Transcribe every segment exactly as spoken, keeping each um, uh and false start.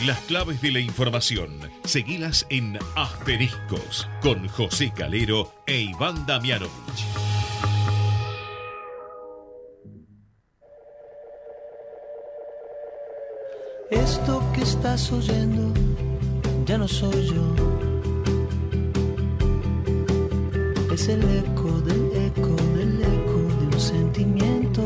Las claves de la información, seguilas en Asteriscos, con José Calero e Iván Damianovich. Esto que estás oyendo ya no soy yo. Es el eco del eco del eco de un sentimiento.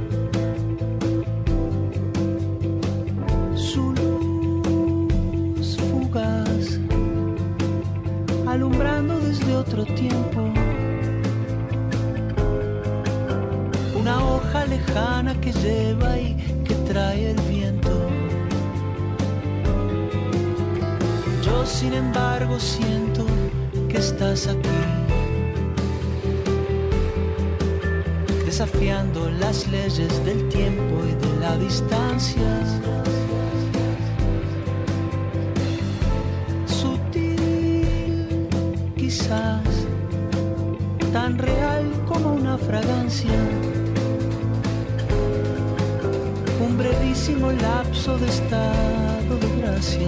Su luz fugaz, alumbrando desde otro tiempo. Una hoja lejana que lleva y que trae el viento. Yo, sin embargo, siento que estás aquí, desafiando las leyes del tiempo y de la distancia. Sutil, quizás, tan real como una fragancia. Un brevísimo lapso de estado de gracia.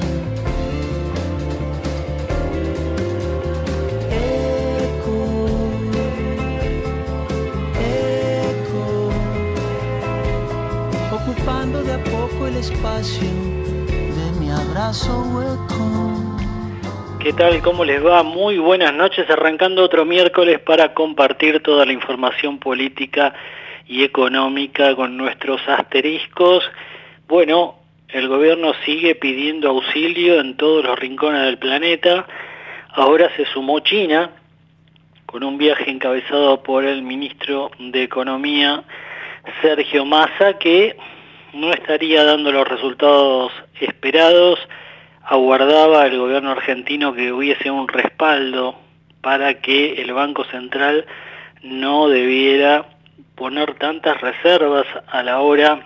Ocupando de a poco el espacio de mi abrazo hueco. ¿Qué tal? ¿Cómo les va? Muy buenas noches, arrancando otro miércoles para compartir toda la información política y económica con nuestros asteriscos. Bueno, el gobierno sigue pidiendo auxilio en todos los rincones del planeta. Ahora se sumó China, con un viaje encabezado por el ministro de Economía, Sergio Massa, que no estaría dando los resultados esperados. Aguardaba el gobierno argentino que hubiese un respaldo para que el Banco Central no debiera poner tantas reservas a la hora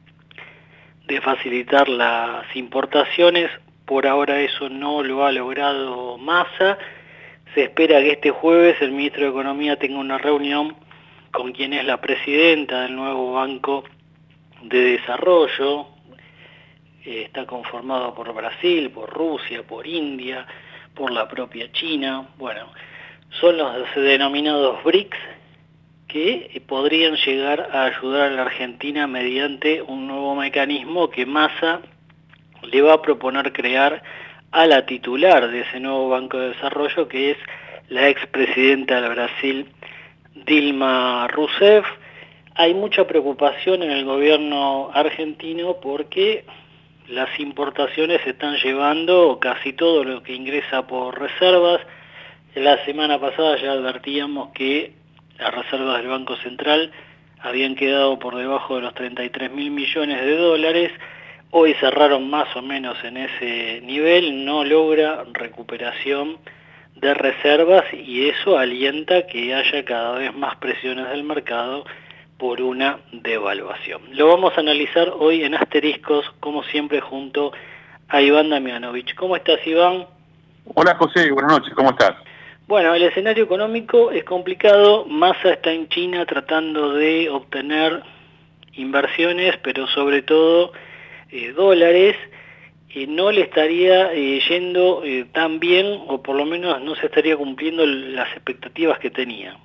de facilitar las importaciones. Por ahora eso no lo ha logrado Massa. Se espera que este jueves el ministro de Economía tenga una reunión con quien es la presidenta del nuevo Banco de Desarrollo. Eh, está conformado por Brasil, por Rusia, por India, por la propia China. Bueno, son los denominados B R I C S que eh, podrían llegar a ayudar a la Argentina mediante un nuevo mecanismo que Massa le va a proponer crear a la titular de ese nuevo Banco de Desarrollo, que es la expresidenta del Brasil, Dilma Rousseff. Hay mucha preocupación en el gobierno argentino porque las importaciones se están llevando casi todo lo que ingresa por reservas. La semana pasada ya advertíamos que las reservas del Banco Central habían quedado por debajo de los treinta y tres mil millones de dólares. Hoy cerraron más o menos en ese nivel, no logra recuperación de reservas y eso alienta que haya cada vez más presiones del mercado por una devaluación. Lo vamos a analizar hoy en Asteriscos, como siempre, junto a Iván Damianovich. ¿Cómo estás, Iván? Hola, José, buenas noches, ¿cómo estás? Bueno, el escenario económico es complicado. Massa está en China tratando de obtener inversiones, pero sobre todo eh, dólares. Eh, no le estaría eh, yendo eh, tan bien, o por lo menos no se estaría cumpliendo las expectativas que tenía.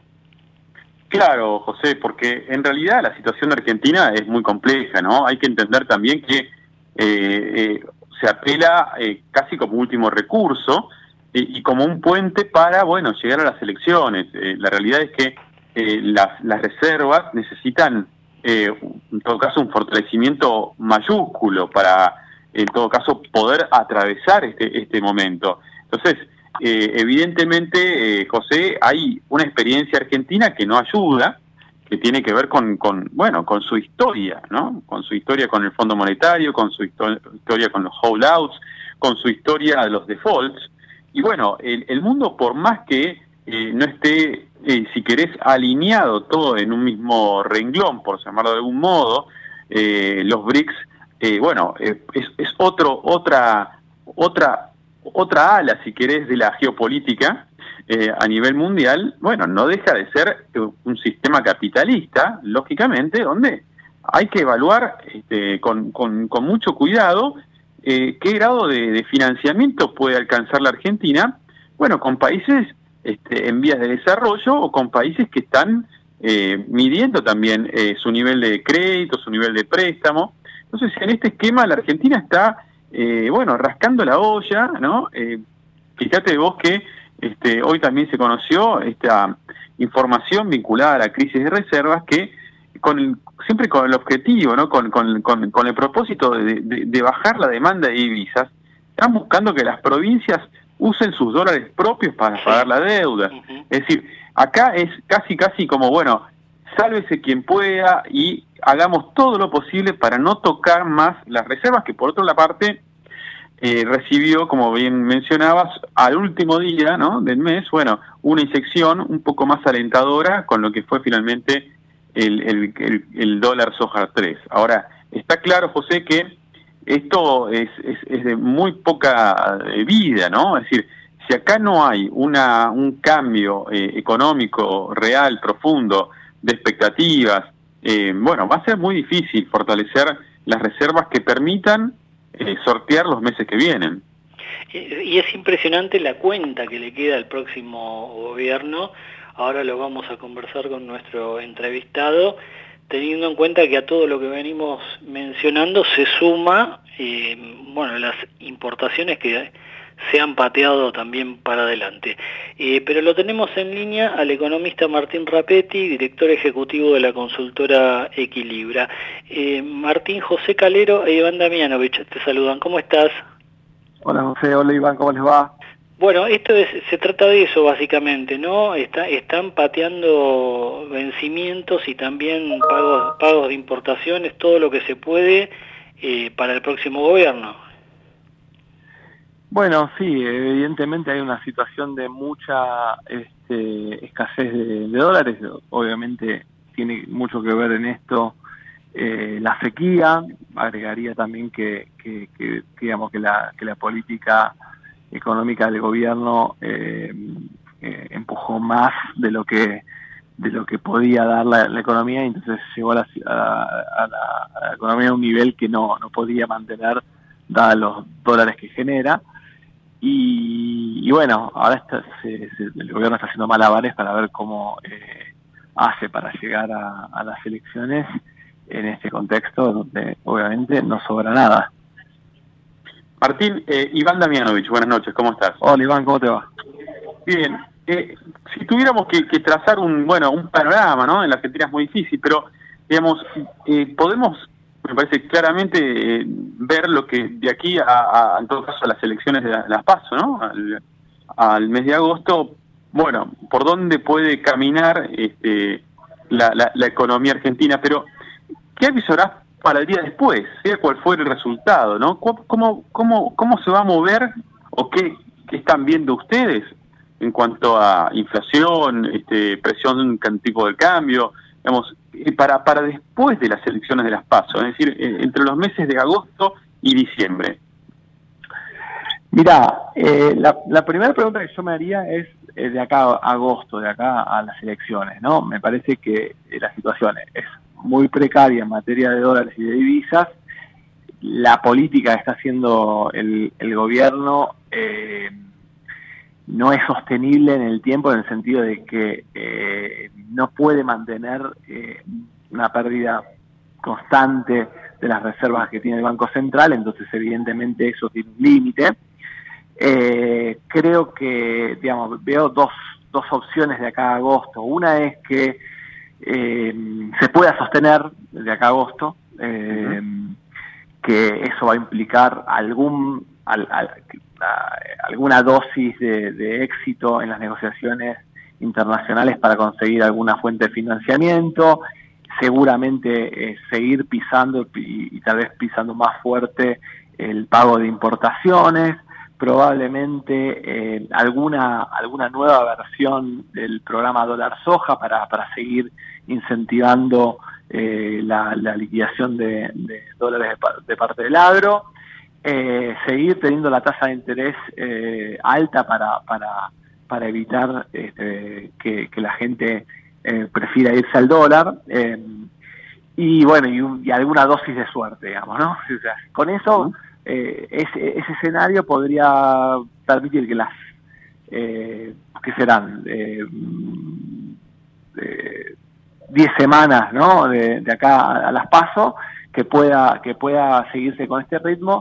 Claro, José, porque en realidad la situación de Argentina es muy compleja, ¿no? Hay que entender también que eh, eh, se apela eh, casi como último recurso eh, y como un puente para, bueno, llegar a las elecciones. Eh, la realidad es que eh, las, las reservas necesitan, eh, en todo caso, un fortalecimiento mayúsculo para, en todo caso, poder atravesar este, este momento. Entonces, Eh, evidentemente, eh, José, hay una experiencia argentina que no ayuda, que tiene que ver con, con, bueno, con su historia, ¿no? Con su historia con el Fondo Monetario, con su histo- historia con los holdouts, con su historia de los defaults. Y bueno, el, el mundo, por más que eh, no esté, eh, si querés, alineado todo en un mismo renglón, por llamarlo de algún modo, eh, los B R I C S, eh, bueno, eh, es, es otro, otra, otra otra ala, si querés, de la geopolítica eh, a nivel mundial. Bueno, no deja de ser un sistema capitalista, lógicamente, donde hay que evaluar este, con, con, con mucho cuidado eh, qué grado de, de financiamiento puede alcanzar la Argentina, bueno, con países este, en vías de desarrollo o con países que están eh, midiendo también eh, su nivel de crédito, su nivel de préstamo. Entonces, en este esquema la Argentina está, eh, bueno, rascando la olla, ¿no? Eh, fíjate vos que este, hoy también se conoció esta información vinculada a la crisis de reservas que con el, siempre con el objetivo, ¿no? Con, con, con, con el propósito de, de, de bajar la demanda de divisas, están buscando que las provincias usen sus dólares propios para sí. pagar la deuda. Uh-huh. Es decir, acá es casi casi como, bueno, sálvese quien pueda y hagamos todo lo posible para no tocar más las reservas, que por otra parte eh, recibió, como bien mencionabas, al último día, ¿no?, del mes, bueno, una inyección un poco más alentadora con lo que fue finalmente el, el, el, el dólar soja tres. Ahora, está claro, José, que esto es, es, es de muy poca vida, ¿no? Es decir, si acá no hay una un cambio eh, económico real, profundo, de expectativas, eh, bueno, va a ser muy difícil fortalecer las reservas que permitan eh, sortear los meses que vienen. Y es impresionante la cuenta que le queda al próximo gobierno. Ahora lo vamos a conversar con nuestro entrevistado, teniendo en cuenta que a todo lo que venimos mencionando se suma, eh, bueno, las importaciones que se han pateado también para adelante. Eh, pero lo tenemos en línea al economista Martín Rapetti, director ejecutivo de la consultora Equilibra. Eh, Martín, José Calero e Iván Damianovich te saludan. ¿Cómo estás? Hola José, hola Iván, ¿cómo les va? Bueno, esto es, se trata de eso básicamente, ¿no? Está, están pateando vencimientos y también pagos, pagos de importaciones, todo lo que se puede eh, para el próximo gobierno. Bueno, sí, evidentemente hay una situación de mucha este, escasez de, de dólares. Obviamente tiene mucho que ver en esto eh, la sequía. Agregaría también que, que, que digamos que la, que la política económica del gobierno eh, eh, empujó más de lo que de lo que podía dar la, la economía, y entonces llegó a la, a, a, la, a la economía a un nivel que no, no podía mantener dados los dólares que genera. Y, y bueno, ahora está, se, se, el gobierno está haciendo malabares para ver cómo eh, hace para llegar a, a las elecciones en este contexto donde obviamente no sobra nada. Martín, eh, Iván Damianovich, buenas noches, ¿cómo estás? Hola Iván, ¿cómo te va? Bien, eh, si tuviéramos que, que trazar un bueno un panorama, ¿no? En la Argentina es muy difícil, pero digamos, eh, podemos, me parece claramente, eh, ver lo que de aquí a, a, en todo caso, a las elecciones de, la, de las PASO, ¿no? Al, al mes de agosto, bueno, por dónde puede caminar este, la, la, la economía argentina, pero ¿qué avisorás para el día después, sea cual fuera el resultado, ¿no? ¿Cómo, cómo, cómo se va a mover o qué, qué están viendo ustedes en cuanto a inflación, este, presión en tipo de cambio, digamos, para, para después de las elecciones de las PASO, es decir, entre los meses de agosto y diciembre? Mirá, eh, la, la primera pregunta que yo me haría es eh, de acá a agosto, de acá a las elecciones, ¿no? Me parece que eh, la situación es muy precaria en materia de dólares y de divisas. La política que está haciendo el, el gobierno eh, no es sostenible en el tiempo, en el sentido de que eh, no puede mantener eh, una pérdida constante de las reservas que tiene el Banco Central, entonces evidentemente eso tiene un límite. Eh, creo que, digamos, veo dos, dos opciones de acá a agosto. Una es que Eh, se pueda sostener de acá a agosto, eh, uh-huh. que eso va a implicar algún al, al, a, alguna dosis de, de éxito en las negociaciones internacionales para conseguir alguna fuente de financiamiento, seguramente eh, seguir pisando y, y tal vez pisando más fuerte el pago de importaciones, probablemente eh, alguna alguna nueva versión del programa dólar soja para, para seguir incentivando eh, la, la liquidación de, de dólares de, de parte del agro, eh, seguir teniendo la tasa de interés eh, alta para para para evitar este, que, que la gente eh, prefiera irse al dólar, eh, y bueno, y, un, y alguna dosis de suerte, digamos, ¿no? O sea, con eso eh, ese, ese escenario podría permitir que las, eh, que serán eh, eh, diez semanas, ¿no? de, de acá a las PASO, que pueda, que pueda seguirse con este ritmo,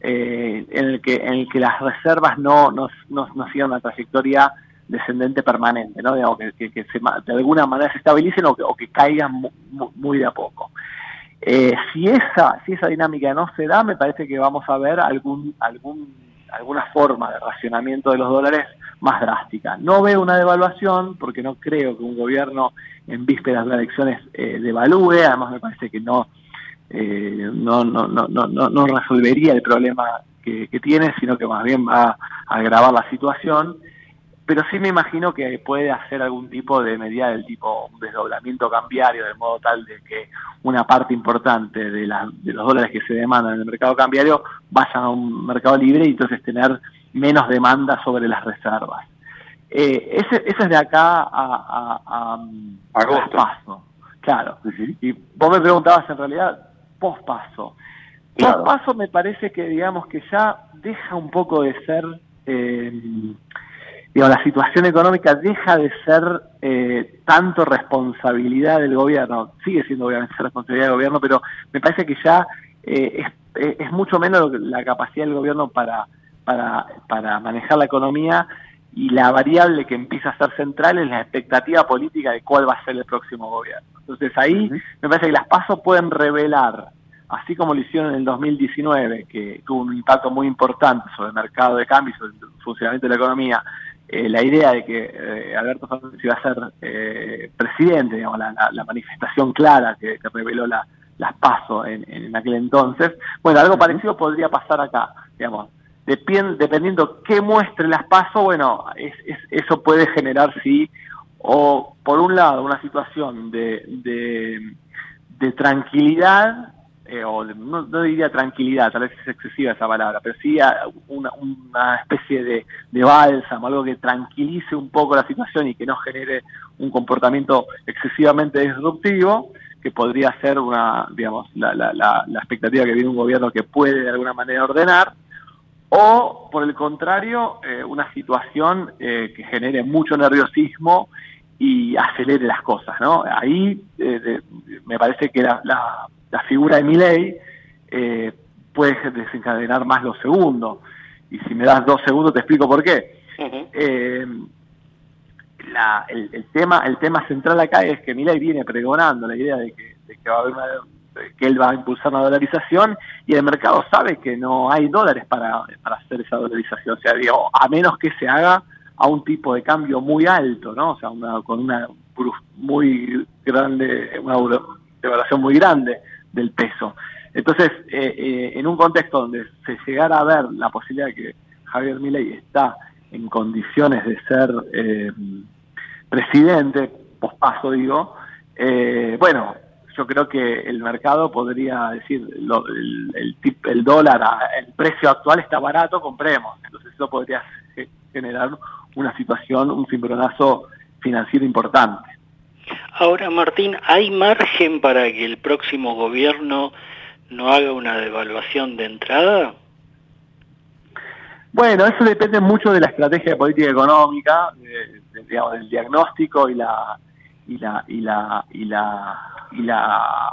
eh, en el que, en el que las reservas no, no, no, no sigan una trayectoria descendente permanente, ¿no? Digamos, que, que, que se, de alguna manera se estabilicen o que, o que caigan muy, muy de a poco. Eh, si esa si esa dinámica no se da, me parece que vamos a ver algún algún alguna forma de racionamiento de los dólares más drástica. No veo una devaluación porque no creo que un gobierno en vísperas de las elecciones eh, devalúe. Además me parece que no eh, no, no, no, no, no resolvería el problema que, que tiene, sino que más bien va a agravar la situación. Pero sí me imagino que puede hacer algún tipo de medida del tipo un desdoblamiento cambiario, de modo tal de que una parte importante de, la, de los dólares que se demandan en el mercado cambiario vayan a un mercado libre y entonces tener menos demanda sobre las reservas. Eh, ese, ese es de acá a, a, a, a paso, claro. Uh-huh. Y vos me preguntabas en realidad post-paso. Claro. Post-paso me parece que digamos que ya deja un poco de ser... Eh, Digamos, la situación económica deja de ser eh, tanto responsabilidad del gobierno, sigue siendo obviamente responsabilidad del gobierno, pero me parece que ya eh, es, es mucho menos la capacidad del gobierno para, para, para manejar la economía, y la variable que empieza a ser central es la expectativa política de cuál va a ser el próximo gobierno. Entonces ahí uh-huh. me parece que las PASO pueden revelar, así como lo hicieron en el dos mil diecinueve, que tuvo un impacto muy importante sobre el mercado de cambio y sobre el funcionamiento de la economía, Eh, la idea de que eh, Alberto Fernández iba a ser eh, presidente, digamos, la, la, la manifestación clara que, que reveló la, las PASO en, en aquel entonces. Bueno, algo uh-huh. parecido podría pasar acá, digamos, Depend, dependiendo qué muestre las PASO, bueno, es, es, eso puede generar, sí, o por un lado una situación de, de, de tranquilidad, Eh, o de, no, no diría tranquilidad, tal vez es excesiva esa palabra, pero sí una, una especie de, de bálsamo, algo que tranquilice un poco la situación y que no genere un comportamiento excesivamente disruptivo, que podría ser una, digamos, la, la, la, la expectativa que viene un gobierno que puede de alguna manera ordenar, o por el contrario, eh, una situación eh, que genere mucho nerviosismo y acelere las cosas, ¿no? Ahí eh, de, me parece que la, la la figura de Milei eh, puede desencadenar más lo segundo. Y si me das dos segundos te explico por qué. Uh-huh. Eh, la, el, el tema el tema central acá es que Milei viene pregonando la idea de que, de que va a haber una, que él va a impulsar una dolarización, y el mercado sabe que no hay dólares para, para hacer esa dolarización. O sea, digo, a menos que se haga a un tipo de cambio muy alto, ¿no? O sea, una, con una muy grande, una devaluación muy grande del peso. Entonces, eh, eh, en un contexto donde se llegara a ver la posibilidad de que Javier Milei está en condiciones de ser eh, presidente, pospaso digo, eh, bueno, yo creo que el mercado podría decir, lo, el, el, tip, el dólar, el precio actual está barato, compremos. Entonces eso podría generar una situación, un cimbronazo financiero importante. Ahora, Martín, ¿hay margen para que el próximo gobierno no haga una devaluación de entrada? Bueno, eso depende mucho de la estrategia de política económica, de, de, digamos, del diagnóstico y la y la y la y la y la,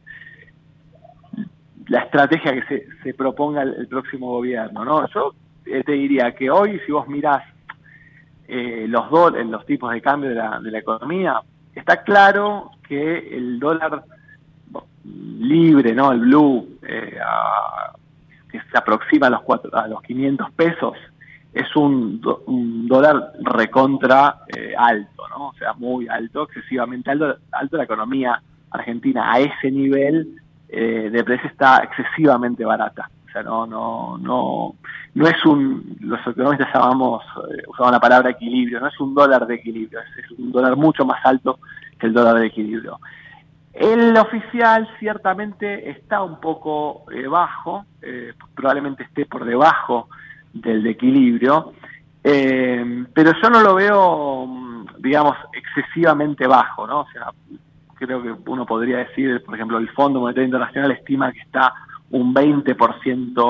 la estrategia que se, se proponga el, el próximo gobierno, ¿no? Yo eh, te diría que hoy, si vos mirás eh, los do, los tipos de cambio de la, de la economía, está claro que el dólar libre, ¿no? El blue, eh, a, que se aproxima a los cuatro, a los quinientos pesos, es un, do, un dólar recontra eh, alto, ¿no? O sea, muy alto, excesivamente alto, alto. La economía argentina a ese nivel eh, de precio está excesivamente barata. O sea, no, no, no, no es un, los economistas llamamos, eh, usamos la palabra equilibrio, no es un dólar de equilibrio, es, es un dólar mucho más alto que el dólar de equilibrio. El oficial ciertamente está un poco eh, bajo, eh, probablemente esté por debajo del de equilibrio, eh, pero yo no lo veo, digamos, excesivamente bajo, ¿no? O sea, creo que uno podría decir, por ejemplo, el Fondo Monetario Internacional estima que está un veinte por ciento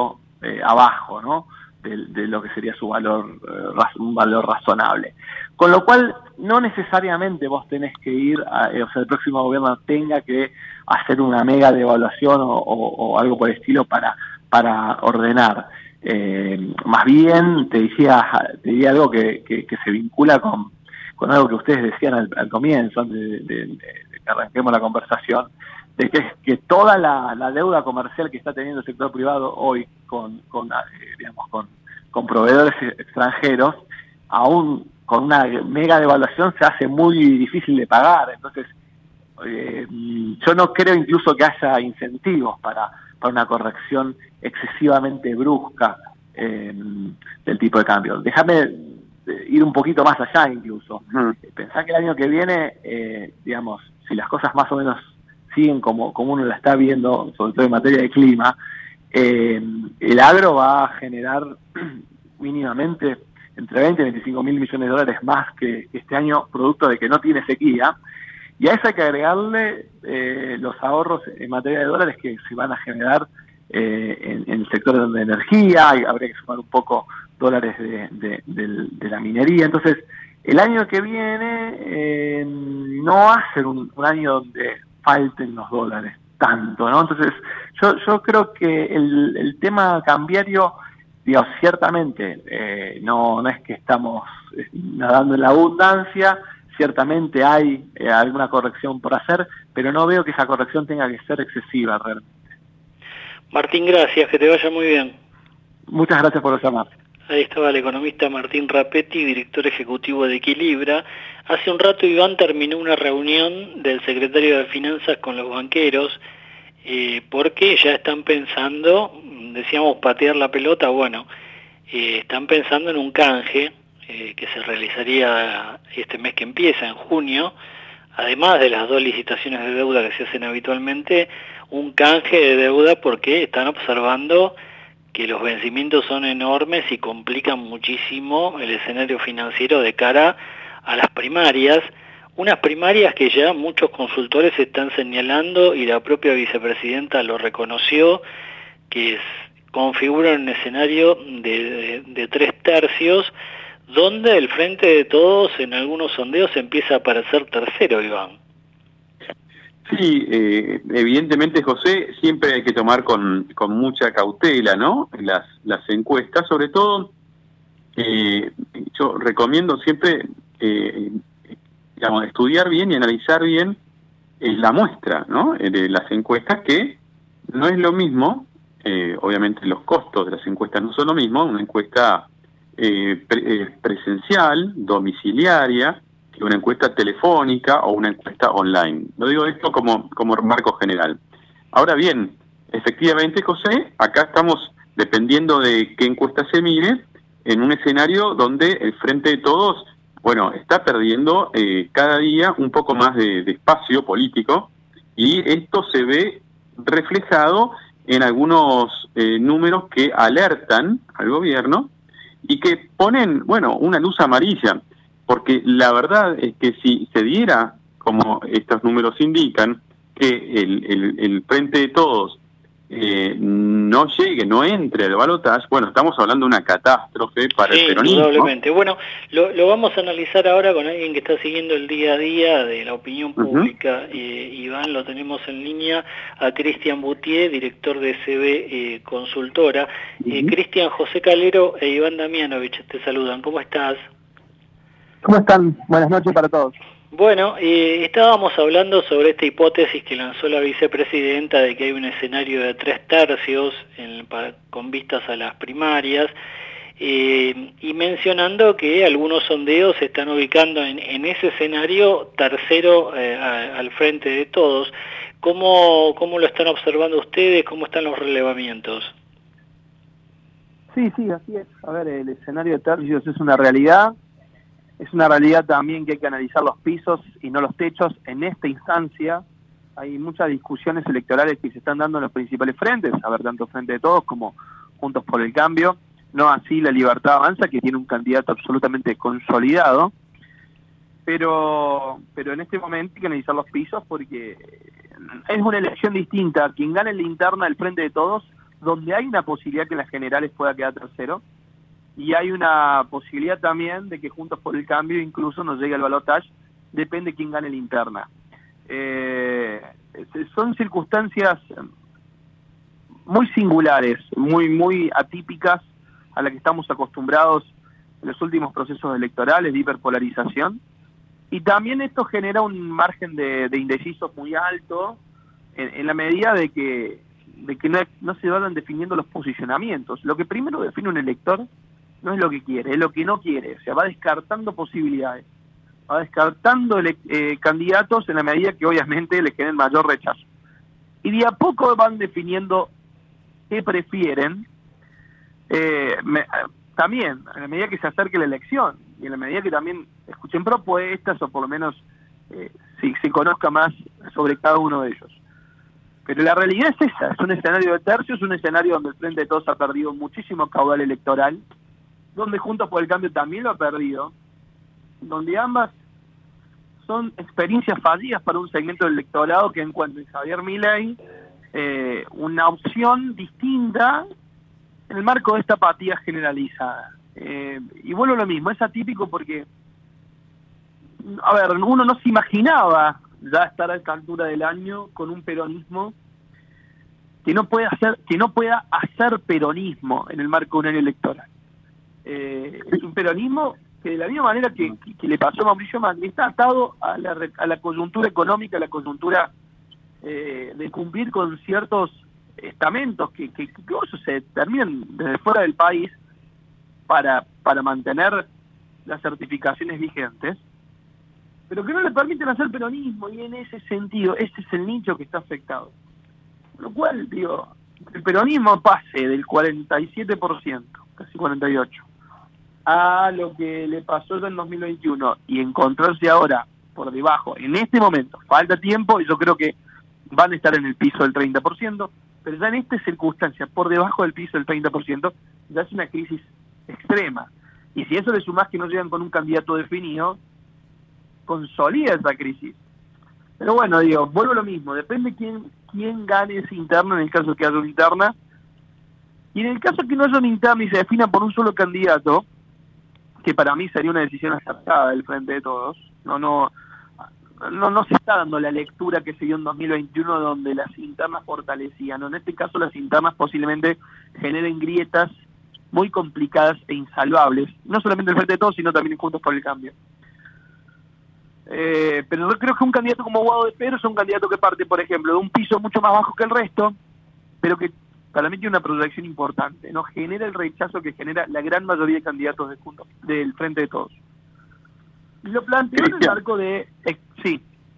eh, abajo, ¿no? De, de lo que sería su valor, eh, un valor razonable. Con lo cual, no necesariamente vos tenés que ir, a, eh, o sea, el próximo gobierno tenga que hacer una mega devaluación o, o, o algo por el estilo para, para ordenar. Eh, más bien, te decía, te diría algo que, que, que se vincula con, con algo que ustedes decían al, al comienzo, antes de, de, de que arranquemos la conversación, de que, que toda la, la deuda comercial que está teniendo el sector privado hoy con, con eh, digamos, con, con proveedores extranjeros, aún con una mega devaluación se hace muy difícil de pagar. Entonces, eh, yo no creo incluso que haya incentivos para, para una corrección excesivamente brusca eh, del tipo de cambio. Déjame ir un poquito más allá incluso. Uh-huh. Pensá que el año que viene, eh, digamos, si las cosas más o menos siguen como, como uno la está viendo, sobre todo en materia de clima, eh, el agro va a generar mínimamente entre veinte y veinticinco mil millones de dólares más que este año, producto de que no tiene sequía, y a eso hay que agregarle eh, los ahorros en materia de dólares que se van a generar eh, en, en el sector de energía, hay, habría que sumar un poco dólares de, de, de, de la minería. Entonces, el año que viene eh, no va a ser un, un año donde falten los dólares tanto, ¿no? Entonces, yo, yo creo que el, el tema cambiario, digamos, ciertamente eh, no, no es que estamos nadando en la abundancia, ciertamente hay eh, alguna corrección por hacer, pero no veo que esa corrección tenga que ser excesiva realmente. Martín, gracias, que te vaya muy bien. Muchas gracias por llamar. Ahí estaba el economista Martín Rapetti, director ejecutivo de Equilibra. Hace un rato Iván terminó una reunión del secretario de Finanzas con los banqueros, eh, porque ya están pensando, decíamos patear la pelota, bueno, eh, están pensando en un canje eh, que se realizaría este mes que empieza, en junio, además de las dos licitaciones de deuda que se hacen habitualmente, un canje de deuda porque están observando que los vencimientos son enormes y complican muchísimo el escenario financiero de cara a las primarias, unas primarias que ya muchos consultores están señalando y la propia vicepresidenta lo reconoció, que es, configuran un escenario de, de, de tres tercios, donde el Frente de Todos en algunos sondeos empieza a aparecer tercero, Iván. Sí, eh, evidentemente, José, siempre hay que tomar con, con mucha cautela, ¿no? Las, las encuestas, sobre todo, eh, yo recomiendo siempre, eh, digamos, estudiar bien y analizar bien eh, la muestra, ¿no? Eh, de las encuestas, que no es lo mismo, eh, obviamente los costos de las encuestas no son lo mismo, una encuesta eh, pre, eh, presencial, domiciliaria, que una encuesta telefónica o una encuesta online. Lo digo esto como, como marco general. Ahora bien, efectivamente, José, acá estamos, dependiendo de qué encuesta se mire, en un escenario donde el Frente de Todos, bueno, está perdiendo eh, cada día un poco más de, de espacio político, y esto se ve reflejado en algunos eh, números que alertan al gobierno y que ponen, bueno, una luz amarilla. Porque la verdad es que si se diera, como estos números indican, que el, el, el Frente de Todos eh, no llegue, no entre al balotaje, bueno, estamos hablando de una catástrofe para sí, el peronismo. Indudablemente. Bueno, lo, lo vamos a analizar ahora con alguien que está siguiendo el día a día de la opinión pública. Uh-huh. eh, Iván, lo tenemos en línea a Cristian Boutier, director de C B eh, Consultora. Uh-huh. eh, Cristian, José Calero e Iván Damianovich te saludan. ¿Cómo estás? ¿Cómo están? Buenas noches para todos. Bueno, eh, estábamos hablando sobre esta hipótesis que lanzó la vicepresidenta de que hay un escenario de tres tercios en, para, con vistas a las primarias, eh, y mencionando que algunos sondeos se están ubicando en, en ese escenario tercero eh, a, al Frente de Todos. ¿Cómo, ¿Cómo lo están observando ustedes? ¿Cómo están los relevamientos? Sí, sí, así es. A ver, el escenario de tercios es una realidad. Es una realidad también que hay que analizar los pisos y no los techos. En esta instancia hay muchas discusiones electorales que se están dando en los principales frentes, a ver, tanto Frente de Todos como Juntos por el Cambio, no así La Libertad Avanza, que tiene un candidato absolutamente consolidado, pero pero en este momento hay que analizar los pisos porque es una elección distinta. Quien gane en la interna del Frente de Todos donde hay una posibilidad que en las generales pueda quedar tercero, y hay una posibilidad también de que Juntos por el Cambio incluso nos llegue al balotaje, depende quién gane la interna. Eh, son circunstancias muy singulares, muy, muy atípicas a las que estamos acostumbrados en los últimos procesos electorales de hiperpolarización, y también esto genera un margen de, de indecisos muy alto en, en la medida de que, de que no, no se van definiendo los posicionamientos. Lo que primero define un elector no es lo que quiere, es lo que no quiere, o sea, va descartando posibilidades, va descartando ele eh, candidatos en la medida que obviamente le generen mayor rechazo. Y de a poco van definiendo qué prefieren, eh, me, también en la medida que se acerque la elección, y en la medida que también escuchen propuestas, o por lo menos eh, si se conozca más sobre cada uno de ellos. Pero la realidad es esa, es un escenario de tercios, un escenario donde el Frente de Todos ha perdido muchísimo caudal electoral, donde Juntos por el Cambio también lo ha perdido, donde ambas son experiencias fallidas para un segmento del electorado que encuentra en Javier Milei eh, una opción distinta en el marco de esta apatía generalizada. Eh, y vuelvo a lo mismo, es atípico porque, a ver, uno no se imaginaba ya estar a esta altura del año con un peronismo que no pueda hacer, que no pueda hacer peronismo en el marco de un año electoral. Eh, es un peronismo que de la misma manera que, que, que le pasó a Mauricio Macri, está atado a la, a la coyuntura económica, a la coyuntura eh, de cumplir con ciertos estamentos que, que, que incluso se terminan desde fuera del país para, para mantener las certificaciones vigentes, pero que no le permiten hacer peronismo, y en ese sentido, ese es el nicho que está afectado. Lo cual, digo, el peronismo pase del cuarenta y siete por ciento, casi cuarenta y ocho por ciento, a lo que le pasó ya en dos mil veintiuno y encontrarse ahora por debajo, en este momento, falta tiempo y yo creo que van a estar en el piso del treinta por ciento, pero ya en esta circunstancia, por debajo del piso del treinta por ciento, ya es una crisis extrema. Y si eso le sumás que no llegan con un candidato definido, consolida esa crisis. Pero bueno, digo, vuelvo a lo mismo, depende quién, quién gane esa interna en el caso que haya una interna, y en el caso que no haya una interna y se defina por un solo candidato, que para mí sería una decisión acertada del Frente de Todos, no no no no se está dando la lectura que se dio en dos mil veintiuno donde las internas fortalecían, no, en este caso las internas posiblemente generen grietas muy complicadas e insalvables, no solamente el Frente de Todos, sino también Juntos por el Cambio. Eh, pero yo creo que un candidato como Guado de Pedro es un candidato que parte, por ejemplo, de un piso mucho más bajo que el resto, pero que para mí tiene una proyección importante, no genera el rechazo que genera la gran mayoría de candidatos de Juntos, del Frente de Todos. Y lo planteo en el marco de... Eh, sí.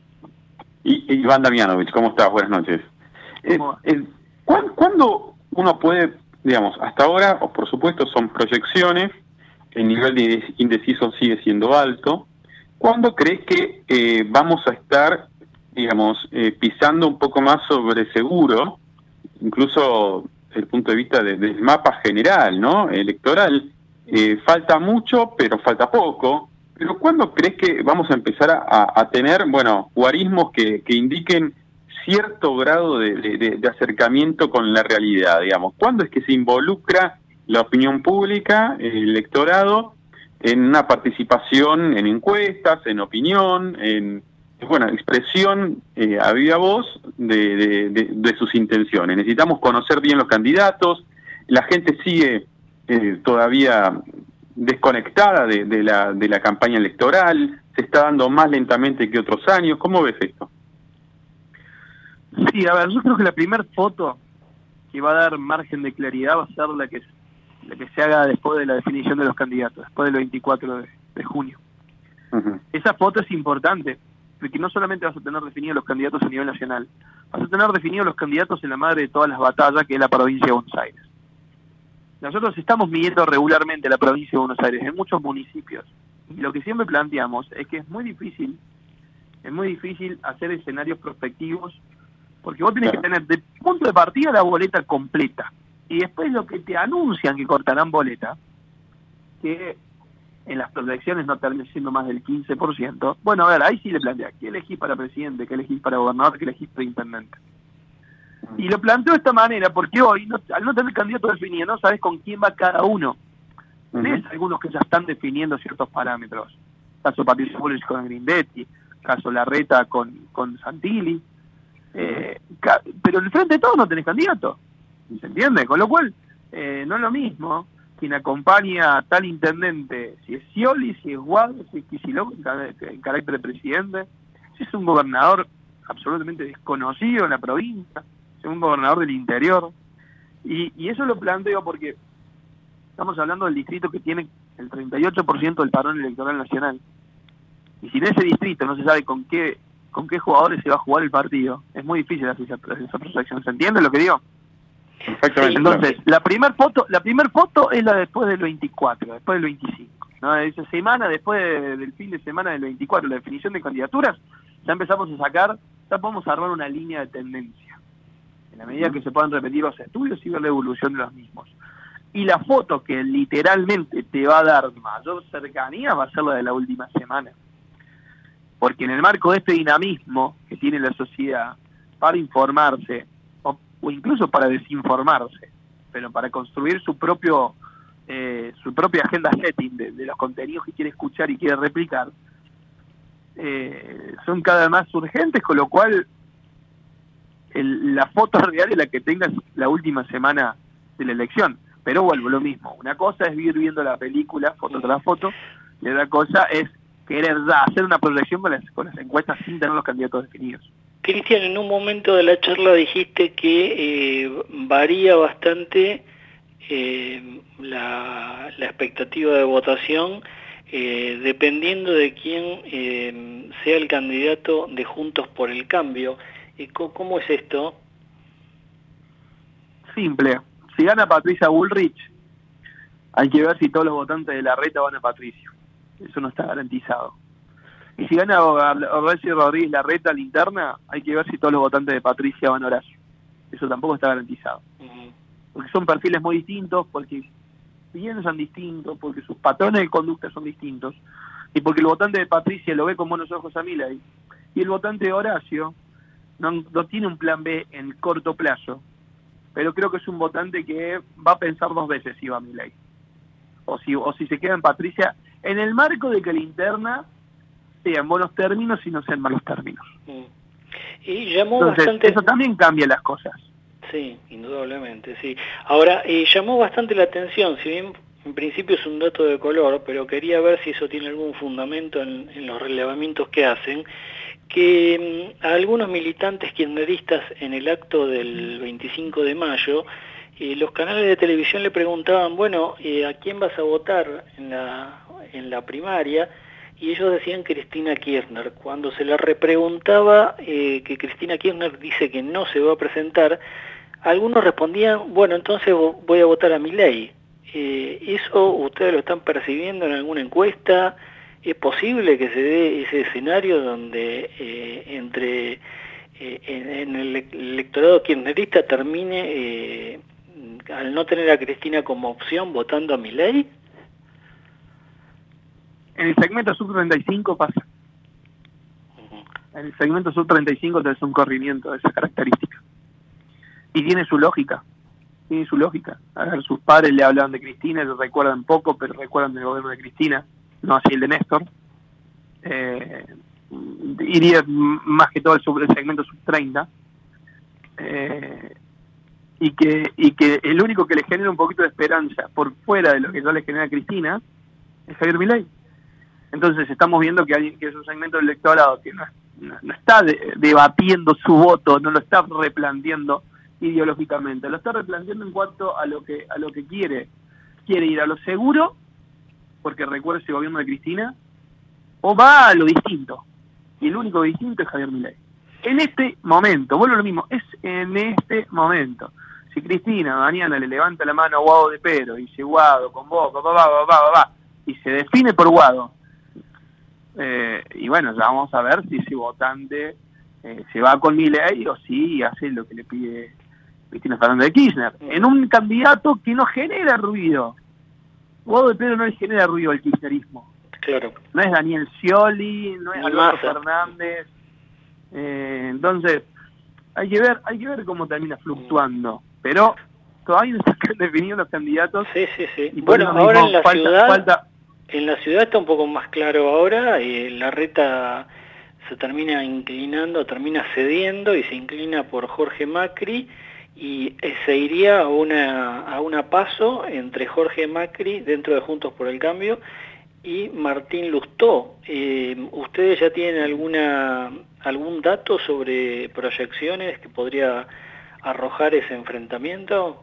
Y, Iván Damianovich, ¿cómo estás? Buenas noches. Eh, eh, ¿cuándo, ¿Cuándo uno puede, digamos, hasta ahora, o por supuesto son proyecciones, el nivel de indeciso sigue siendo alto, ¿cuándo crees que eh, vamos a estar, digamos, eh, pisando un poco más sobre seguro, incluso desde el punto de vista de, del mapa general, ¿no? Electoral? Eh, falta mucho, pero falta poco. Pero ¿cuándo crees que vamos a empezar a, a tener, bueno, guarismos que, que indiquen cierto grado de, de, de acercamiento con la realidad, digamos? ¿Cuándo es que se involucra la opinión pública, el electorado, en una participación en encuestas, en opinión, en, bueno, expresión eh, a viva voz de, de, de, de sus intenciones? Necesitamos conocer bien los candidatos, la gente sigue eh, todavía desconectada de, de, la, de la campaña electoral, se está dando más lentamente que otros años. ¿Cómo ves esto? Sí, a ver, yo creo que la primera foto que va a dar margen de claridad va a ser la que, la que se haga después de la definición de los candidatos, después del veinticuatro de, de junio. Uh-huh. Esa foto es importante, porque no solamente vas a tener definidos los candidatos a nivel nacional, vas a tener definidos los candidatos en la madre de todas las batallas, que es la provincia de Buenos Aires. Nosotros estamos midiendo regularmente la provincia de Buenos Aires en muchos municipios, y lo que siempre planteamos es que es muy difícil, es muy difícil hacer escenarios prospectivos, porque vos tenés que tener de punto de partida la boleta completa, y después lo que te anuncian que cortarán boleta, que en las proyecciones no termina siendo más del quince por ciento, bueno, a ver, ahí sí le plantea, ¿qué elegís para presidente, qué elegís para gobernador, qué elegís para intendente? Y lo planteo de esta manera porque hoy, no, al no tener candidato definido, no sabes con quién va cada uno. Tenés uh-huh. algunos que ya están definiendo ciertos parámetros. Caso Patricio Bullrich con Grindetti, caso Larreta con, con Santilli. Eh, ca- pero en el frente de todos no tenés candidato. ¿Se entiende? Con lo cual, eh, no es lo mismo quien acompaña a tal intendente, si es Scioli, si es Guado, si es Kicillof en, en carácter de presidente, si es un gobernador absolutamente desconocido en la provincia, si es un gobernador del interior. Y, y eso lo planteo porque estamos hablando del distrito que tiene el treinta y ocho por ciento del padrón electoral nacional. Y si en ese distrito no se sabe con qué con qué jugadores se va a jugar el partido, es muy difícil hacer esa, esa proyección. ¿Se entiende lo que digo? Exactamente. Entonces, claro. la primer foto, la primer foto es la después del veinticuatro, después del veinticinco, ¿no? Esa semana, después de, del fin de semana del veinticuatro, la definición de candidaturas, ya empezamos a sacar, ya podemos armar una línea de tendencia, en la medida que se puedan repetir los estudios y ver la evolución de los mismos. Y la foto que literalmente te va a dar mayor cercanía va a ser la de la última semana. Porque en el marco de este dinamismo que tiene la sociedad para informarse, o, o incluso para desinformarse, pero para construir su propio eh, su propia agenda setting de, de los contenidos que quiere escuchar y quiere replicar, eh, son cada vez más urgentes, con lo cual el, la foto real es la que tengas la última semana de la elección. Pero vuelvo, lo mismo, una cosa es ir viendo la película, foto tras foto, y otra cosa es querer ya hacer una proyección con las, con las encuestas sin tener los candidatos definidos. Cristian, en un momento de la charla dijiste que eh, varía bastante eh, la, la expectativa de votación eh, dependiendo de quién eh, sea el candidato de Juntos por el Cambio. Eh, ¿Cómo es esto? Simple. Si gana Patricia Bullrich, hay que ver si todos los votantes de Larreta van a Patricio. Eso no está garantizado. Y si gana Horacio Rodríguez Larreta la interna, hay que ver si todos los votantes de Patricia van a Horacio. Eso tampoco está garantizado. Uh-huh. Porque son perfiles muy distintos, porque piensan distintos, porque sus patrones de conducta son distintos, y porque el votante de Patricia lo ve con buenos ojos a Milei, y el votante de Horacio no, no tiene un plan B en corto plazo, pero creo que es un votante que va a pensar dos veces si va a Milei, o si, o si se queda en Patricia, en el marco de que la interna sea en buenos términos y no sea en malos términos. Mm. Y llamó Entonces, bastante... eso también cambia las cosas. Sí, indudablemente, sí. Ahora, eh, llamó bastante la atención, si bien en principio es un dato de color, pero quería ver si eso tiene algún fundamento en, en los relevamientos que hacen, que a algunos militantes kirchneristas en el acto del veinticinco de mayo, eh, los canales de televisión le preguntaban, bueno, eh, ¿a quién vas a votar en la, en la primaria? Y ellos decían Cristina Kirchner. Cuando se le repreguntaba eh, que Cristina Kirchner dice que no se va a presentar, algunos respondían, bueno, entonces voy a votar a Milei. Eh, ¿Eso ustedes lo están percibiendo en alguna encuesta? ¿Es posible que se dé ese escenario donde eh, entre eh, en, en el electorado kirchnerista termine, eh, al no tener a Cristina como opción, votando a Milei? En el segmento sub treinta y cinco pasa. Uh-huh. En el segmento sub treinta y cinco tenés un corrimiento de esa característica. Y tiene su lógica. Tiene su lógica. A ver, sus padres le hablaban de Cristina, le recuerdan poco, pero recuerdan del gobierno de Cristina, no así el de Néstor. Eh, iría más que todo el, sub, el segmento sub treinta. Eh, y que y que el único que le genera un poquito de esperanza por fuera de lo que ya le genera a Cristina es Javier Milei. Entonces estamos viendo que alguien que es un segmento del electorado que no, no, no está de, debatiendo su voto, no lo está replanteando ideológicamente, lo está replanteando en cuanto a lo que a lo que quiere. Quiere ir a lo seguro, porque recuerda ese gobierno de Cristina, o va a lo distinto. Y el único distinto es Javier Milei. En este momento, vuelvo a lo mismo, es en este momento. Si Cristina mañana le levanta la mano a Guado de Pedro y dice Guado, convoca, va, va, va, va, va, y se define por Guado, eh, y bueno, ya vamos a ver si ese votante eh, se va con Milei o si hace lo que le pide Cristina Fernández de Kirchner, en un candidato que no genera ruido. Guado de Pedro no le genera ruido al kirchnerismo. Claro. No es Daniel Scioli, no es Alberto Fernández. Eh, entonces, hay que ver, hay que ver cómo termina fluctuando, pero todavía no están definidos los candidatos. Sí, sí, sí. Y por Bueno, eso ahora mismo en la falta- ciudad, falta- en la ciudad está un poco más claro ahora, eh, Larreta se termina inclinando, termina cediendo y se inclina por Jorge Macri, y eh, se iría a una, a una paso entre Jorge Macri, dentro de Juntos por el Cambio, y Martín Lustó. Eh, ¿Ustedes ya tienen alguna algún dato sobre proyecciones que podría arrojar ese enfrentamiento?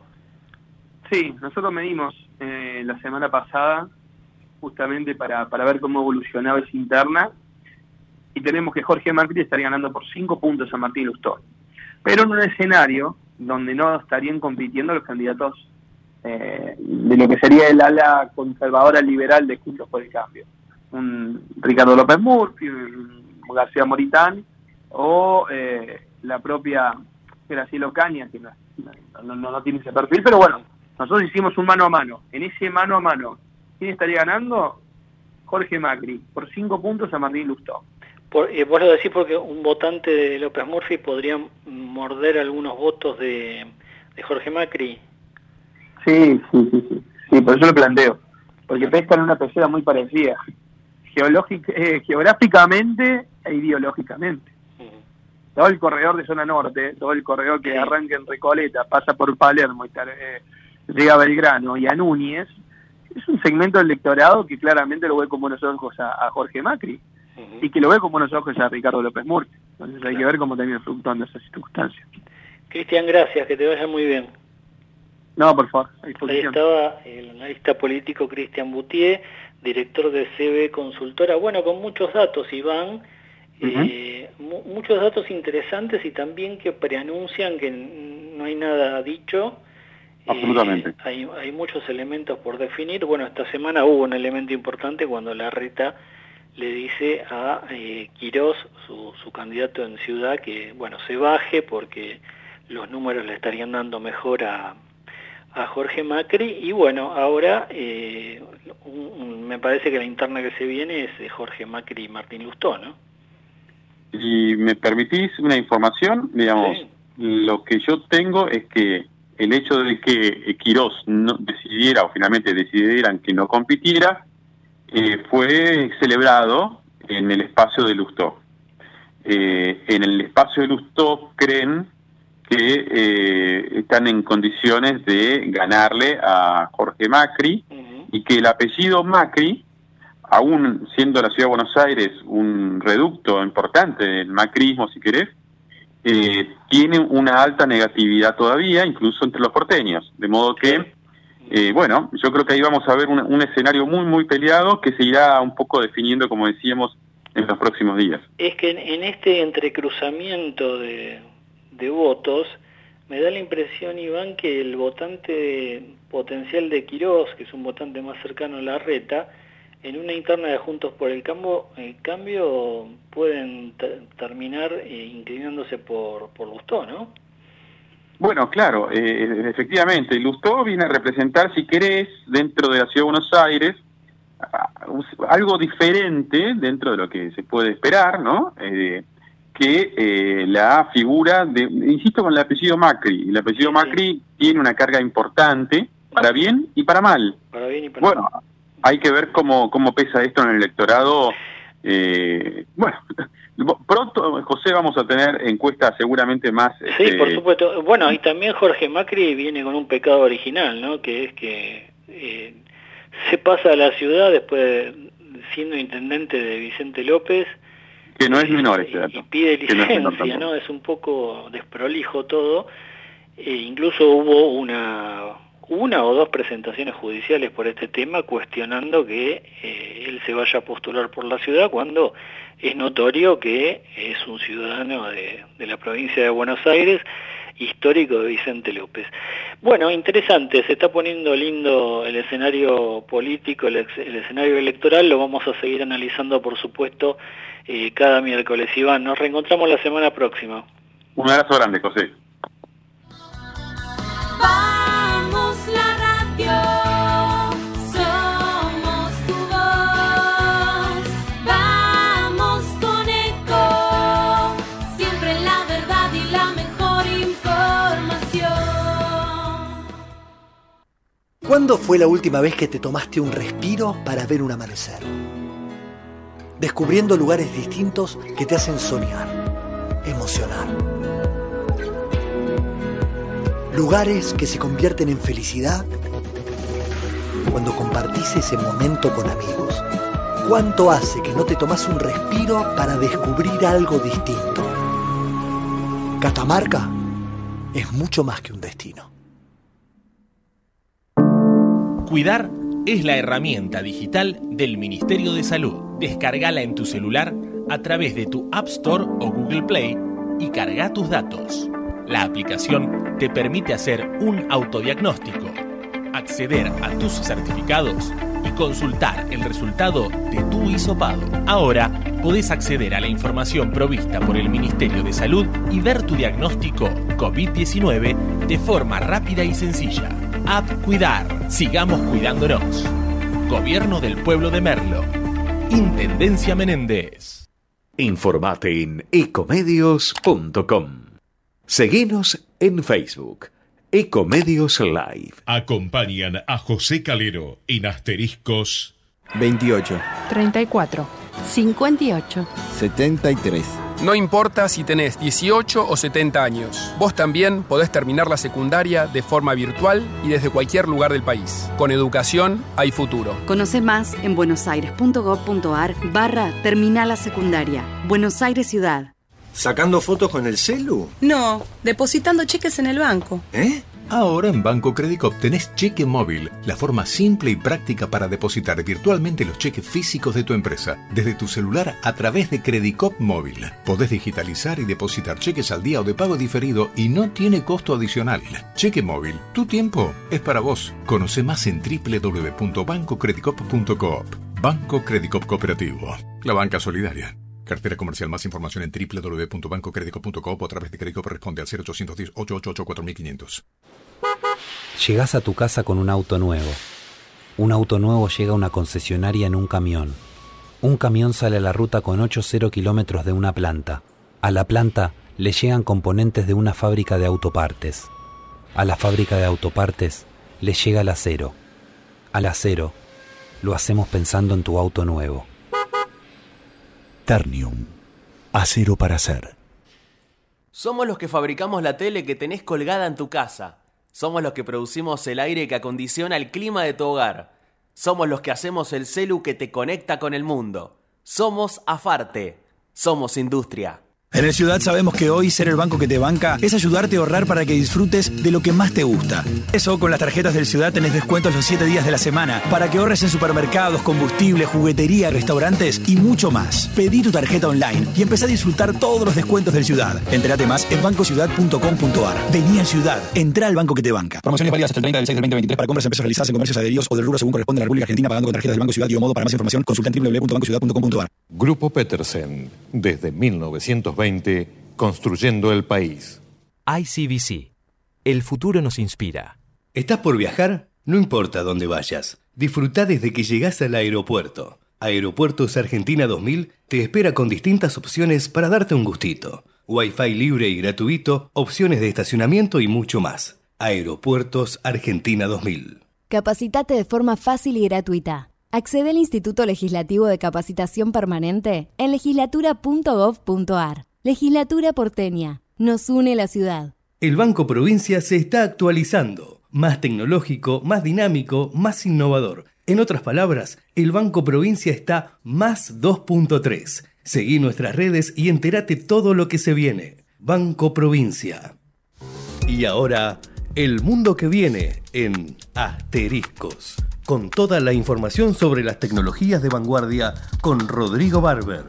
Sí, nosotros medimos eh, la semana pasada justamente para, para ver cómo evolucionaba esa interna, y tenemos que Jorge Macri estaría ganando por cinco puntos a Martín Lustó, pero en un escenario donde no estarían compitiendo los candidatos eh, de lo que sería el ala conservadora liberal de Juntos por el Cambio, un Ricardo López Murphy, un García Moritán o eh, la propia Graciela Ocaña, que no, no, no, no tiene ese perfil, pero bueno, nosotros hicimos un mano a mano. En ese mano a mano, ¿quién estaría ganando? Jorge Macri, por cinco puntos a Martín Lustó. Por, eh, vos lo decís porque un votante de López Murphy podría morder algunos votos de, de Jorge Macri. Sí, sí, sí, sí, sí, por eso lo planteo, porque pescan en una pecera muy parecida, geológica, eh, geográficamente e ideológicamente. Uh-huh. Todo el corredor de zona norte, todo el corredor que sí. arranca en Recoleta, pasa por Palermo y eh, llega a Belgrano y a Núñez, es un segmento del electorado que claramente lo ve con buenos ojos a, a Jorge Macri, uh-huh. y que lo ve con buenos ojos a Ricardo López Murphy. Entonces hay claro. que ver cómo termina fluctuando esas circunstancias. Cristian, gracias, que te vaya muy bien. No, por favor. Ahí estaba el analista político Cristian Boutier, director de C B Consultora. Bueno, con muchos datos, Iván, uh-huh. eh, mu- muchos datos interesantes y también que preanuncian que no hay nada dicho. Absolutamente. Eh, hay, hay muchos elementos por definir. Bueno, esta semana hubo un elemento importante cuando Larreta le dice a eh, Quirós, su, su candidato en Ciudad, que bueno, se baje porque los números le estarían dando mejor a, a Jorge Macri. Y bueno, ahora eh, un, un, me parece que la interna que se viene es de Jorge Macri y Martín Lustó, ¿no? Si me permitís una información, digamos, sí. Lo que yo tengo es que el hecho de que Quirós no decidiera, o finalmente decidieran que no compitiera, eh, fue celebrado en el espacio de Lustó. Eh, en el espacio de Lustó creen que eh, están en condiciones de ganarle a Jorge Macri, uh-huh. y que el apellido Macri, aún siendo la Ciudad de Buenos Aires un reducto importante del macrismo, si querés, eh, tiene una alta negatividad todavía, incluso entre los porteños. De modo que, eh, bueno, yo creo que ahí vamos a ver un, un escenario muy, muy peleado que se irá un poco definiendo, como decíamos, en los próximos días. Es que en, en este entrecruzamiento de, de votos, me da la impresión, Iván, que el votante potencial de Quirós, que es un votante más cercano a Larreta, en una interna de Juntos por el Cambio, el cambio pueden t- terminar eh, inclinándose por, por Lustó, ¿no? Bueno, claro, eh, efectivamente, Lustó viene a representar, si querés, dentro de la Ciudad de Buenos Aires, algo diferente dentro de lo que se puede esperar, ¿no? Eh, que eh, la figura de, insisto con el apellido Macri, el apellido sí, Macri sí. tiene una carga importante, para bien y para mal. Para bien y para bueno, mal. Hay que ver cómo, cómo pesa esto en el electorado. Eh, bueno, pronto, José, vamos a tener encuestas seguramente más... Sí, este... por supuesto. Bueno, y también Jorge Macri viene con un pecado original, ¿no? Que es que eh, se pasa a la ciudad después de, siendo intendente de Vicente López. Que no es menor ese dato. Y pide licencia, no es, ¿no? Es un poco desprolijo todo. Eh, incluso hubo una... una o dos presentaciones judiciales por este tema cuestionando que eh, él se vaya a postular por la ciudad cuando es notorio que es un ciudadano de, de la provincia de Buenos Aires, histórico de Vicente López. Bueno, interesante, se está poniendo lindo el escenario político, el, ex, el escenario electoral, lo vamos a seguir analizando, por supuesto, eh, cada miércoles. Iván, nos reencontramos la semana próxima. Un abrazo grande, José. Vamos con Eco, siempre la verdad y la mejor. ¿Cuándo fue la última vez que te tomaste un respiro para ver un amanecer? Descubriendo lugares distintos que te hacen soñar, emocionar. Lugares que se convierten en felicidad cuando compartís ese momento con amigos. ¿Cuánto hace que no te tomás un respiro para descubrir algo distinto? Catamarca es mucho más que un destino. Cuidar es la herramienta digital del Ministerio de Salud. Descárgala en tu celular a través de tu App Store o Google Play y carga tus datos. La aplicación te permite hacer un autodiagnóstico, acceder a tus certificados y consultar el resultado de tu hisopado. Ahora podés acceder a la información provista por el Ministerio de Salud y ver tu diagnóstico COVID diecinueve de forma rápida y sencilla. App Cuidar. Sigamos cuidándonos. Gobierno del Pueblo de Merlo. Intendencia Menéndez. Informate en ecomedios punto com. Seguinos en Facebook. Ecomedios Live. Acompañan a José Calero en asteriscos veintiocho, treinta y cuatro, cincuenta y ocho, setenta y tres. No importa si tenés dieciocho o setenta años, vos también podés terminar la secundaria de forma virtual y desde cualquier lugar del país. Con educación hay futuro. Conoce más en buenosaires.gov.ar barra terminal la secundaria. Buenos Aires Ciudad. ¿Sacando fotos con el celu? No, depositando cheques en el banco. ¿Eh? Ahora en Banco Credicop tenés cheque móvil, la forma simple y práctica para depositar virtualmente los cheques físicos de tu empresa, desde tu celular a través de Credicop Móvil. Podés digitalizar y depositar cheques al día o de pago diferido y no tiene costo adicional. Cheque móvil, tu tiempo es para vos. Conoce más en doble u doble u doble u punto banco credicop punto coop. Banco Credicop Cooperativo, la banca solidaria. Cartera comercial. Más información en doble u doble u doble u punto banco credicop punto coop o a través de Credicop. Responde al cero ochocientos diez, ochocientos ochenta y ocho, cuatro mil quinientos. Llegás a tu casa con un auto nuevo. Un auto nuevo llega a una concesionaria en un camión. Un camión sale a la ruta con ocho cero kilómetros de una planta. A la planta le llegan componentes de una fábrica de autopartes. A la fábrica de autopartes le llega el acero. Al acero lo hacemos pensando en tu auto nuevo. Ternium. Acero para hacer. Somos los que fabricamos la tele que tenés colgada en tu casa. Somos los que producimos el aire que acondiciona el clima de tu hogar. Somos los que hacemos el celu que te conecta con el mundo. Somos Afarte. Somos industria. En el Ciudad sabemos que hoy ser el banco que te banca es ayudarte a ahorrar para que disfrutes de lo que más te gusta. Eso, con las tarjetas del Ciudad tenés descuentos los siete días de la semana para que ahorres en supermercados, combustible, juguetería, restaurantes y mucho más. Pedí tu tarjeta online y empezá a disfrutar todos los descuentos del Ciudad. Entérate más en banco ciudad punto com punto ar. Vení al Ciudad. Entrá al banco que te banca. Promociones válidas hasta el treinta del seis del veinte veintitrés para compras en pesos realizadas en comercios adheridos o del rubro según corresponde a la República Argentina pagando con tarjetas del Banco Ciudad y o modo. Para más información consulta en doble u doble u doble u punto banco ciudad punto com punto ar. Grupo Petersen. Desde mil novecientos veinte, construyendo el país. I C B C. El futuro nos inspira. ¿Estás por viajar? No importa dónde vayas. Disfrutá desde que llegás al aeropuerto. Aeropuertos Argentina dos mil te espera con distintas opciones para darte un gustito. Wi-Fi libre y gratuito, opciones de estacionamiento y mucho más. Aeropuertos Argentina dos mil. Capacitate de forma fácil y gratuita. Accede al Instituto Legislativo de Capacitación Permanente en legislatura punto gov punto ar. Legislatura porteña. Nos une la ciudad. El Banco Provincia se está actualizando. Más tecnológico, más dinámico, más innovador. En otras palabras, el Banco Provincia está más dos punto tres. Seguí nuestras redes y entérate todo lo que se viene. Banco Provincia. Y ahora, el mundo que viene en Asteriscos. Con toda la información sobre las tecnologías de vanguardia con Rodrigo Barber.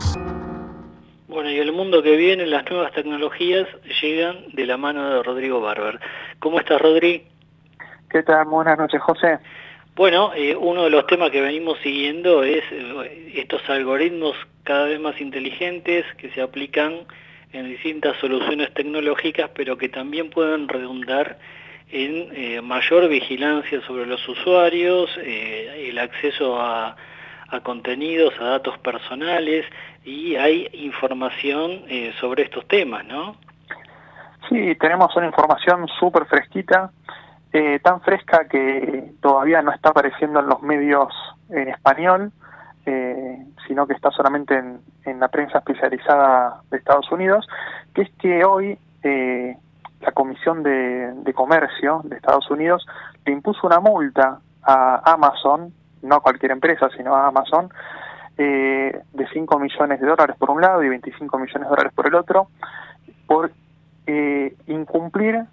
Bueno, y el mundo que viene, las nuevas tecnologías llegan de la mano de Rodrigo Barber. ¿Cómo estás, Rodri? ¿Qué tal? Buenas noches, José. Bueno, eh, uno de los temas que venimos siguiendo es eh, estos algoritmos cada vez más inteligentes que se aplican en distintas soluciones tecnológicas, pero que también pueden redundar en eh, mayor vigilancia sobre los usuarios, eh, el acceso a, a contenidos, a datos personales, y hay información eh, sobre estos temas, ¿no? Sí, tenemos una información súper fresquita. eh, tan fresca que todavía no está apareciendo en los medios en español, eh, sino que está solamente en, en la prensa especializada de Estados Unidos, que es que hoy eh, la Comisión de, de Comercio de Estados Unidos le impuso una multa a Amazon, no a cualquier empresa, sino a Amazon, eh, de cinco millones de dólares por un lado y veinticinco millones de dólares por el otro, por eh, incumplir,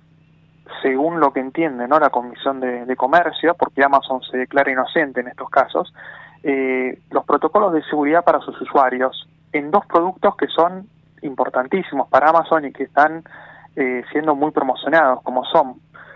según lo que entiende, ¿no?, la Comisión de, de Comercio, porque Amazon se declara inocente en estos casos, eh, los protocolos de seguridad para sus usuarios en dos productos que son importantísimos para Amazon y que están eh, siendo muy promocionados, como son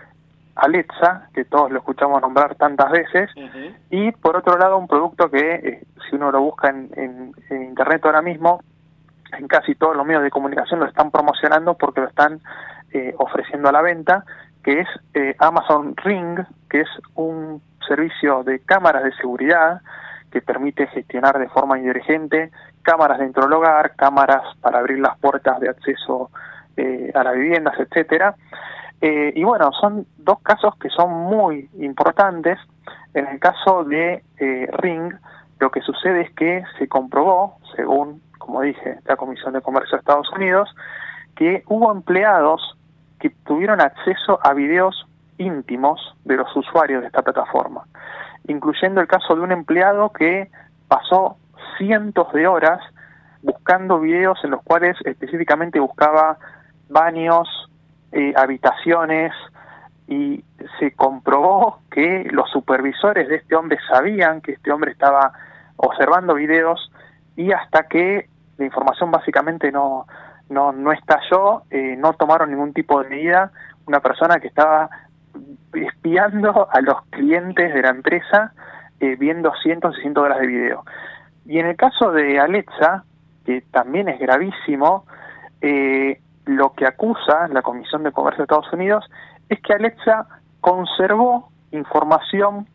Alexa, que todos lo escuchamos nombrar tantas veces, uh-huh. y por otro lado un producto que, eh, si uno lo busca en, en, en internet ahora mismo, en casi todos los medios de comunicación lo están promocionando porque lo están eh, ofreciendo a la venta, que es eh, Amazon Ring, que es un servicio de cámaras de seguridad que permite gestionar de forma inteligente cámaras dentro del hogar, cámaras para abrir las puertas de acceso eh, a las viviendas, etcétera. Eh, y bueno, son dos casos que son muy importantes. En el caso de eh, Ring, lo que sucede es que se comprobó, según, como dije, la Comisión de Comercio de Estados Unidos, que hubo empleados que tuvieron acceso a videos íntimos de los usuarios de esta plataforma, incluyendo el caso de un empleado que pasó cientos de horas buscando videos en los cuales específicamente buscaba baños, eh, habitaciones, y se comprobó que los supervisores de este hombre sabían que este hombre estaba observando videos, y hasta que la información básicamente no no no estalló, eh, no tomaron ningún tipo de medida. Una persona que estaba espiando a los clientes de la empresa, eh, viendo cientos y cientos de horas de video. Y en el caso de Alexa, que también es gravísimo, eh, lo que acusa la Comisión de Comercio de Estados Unidos es que Alexa conservó información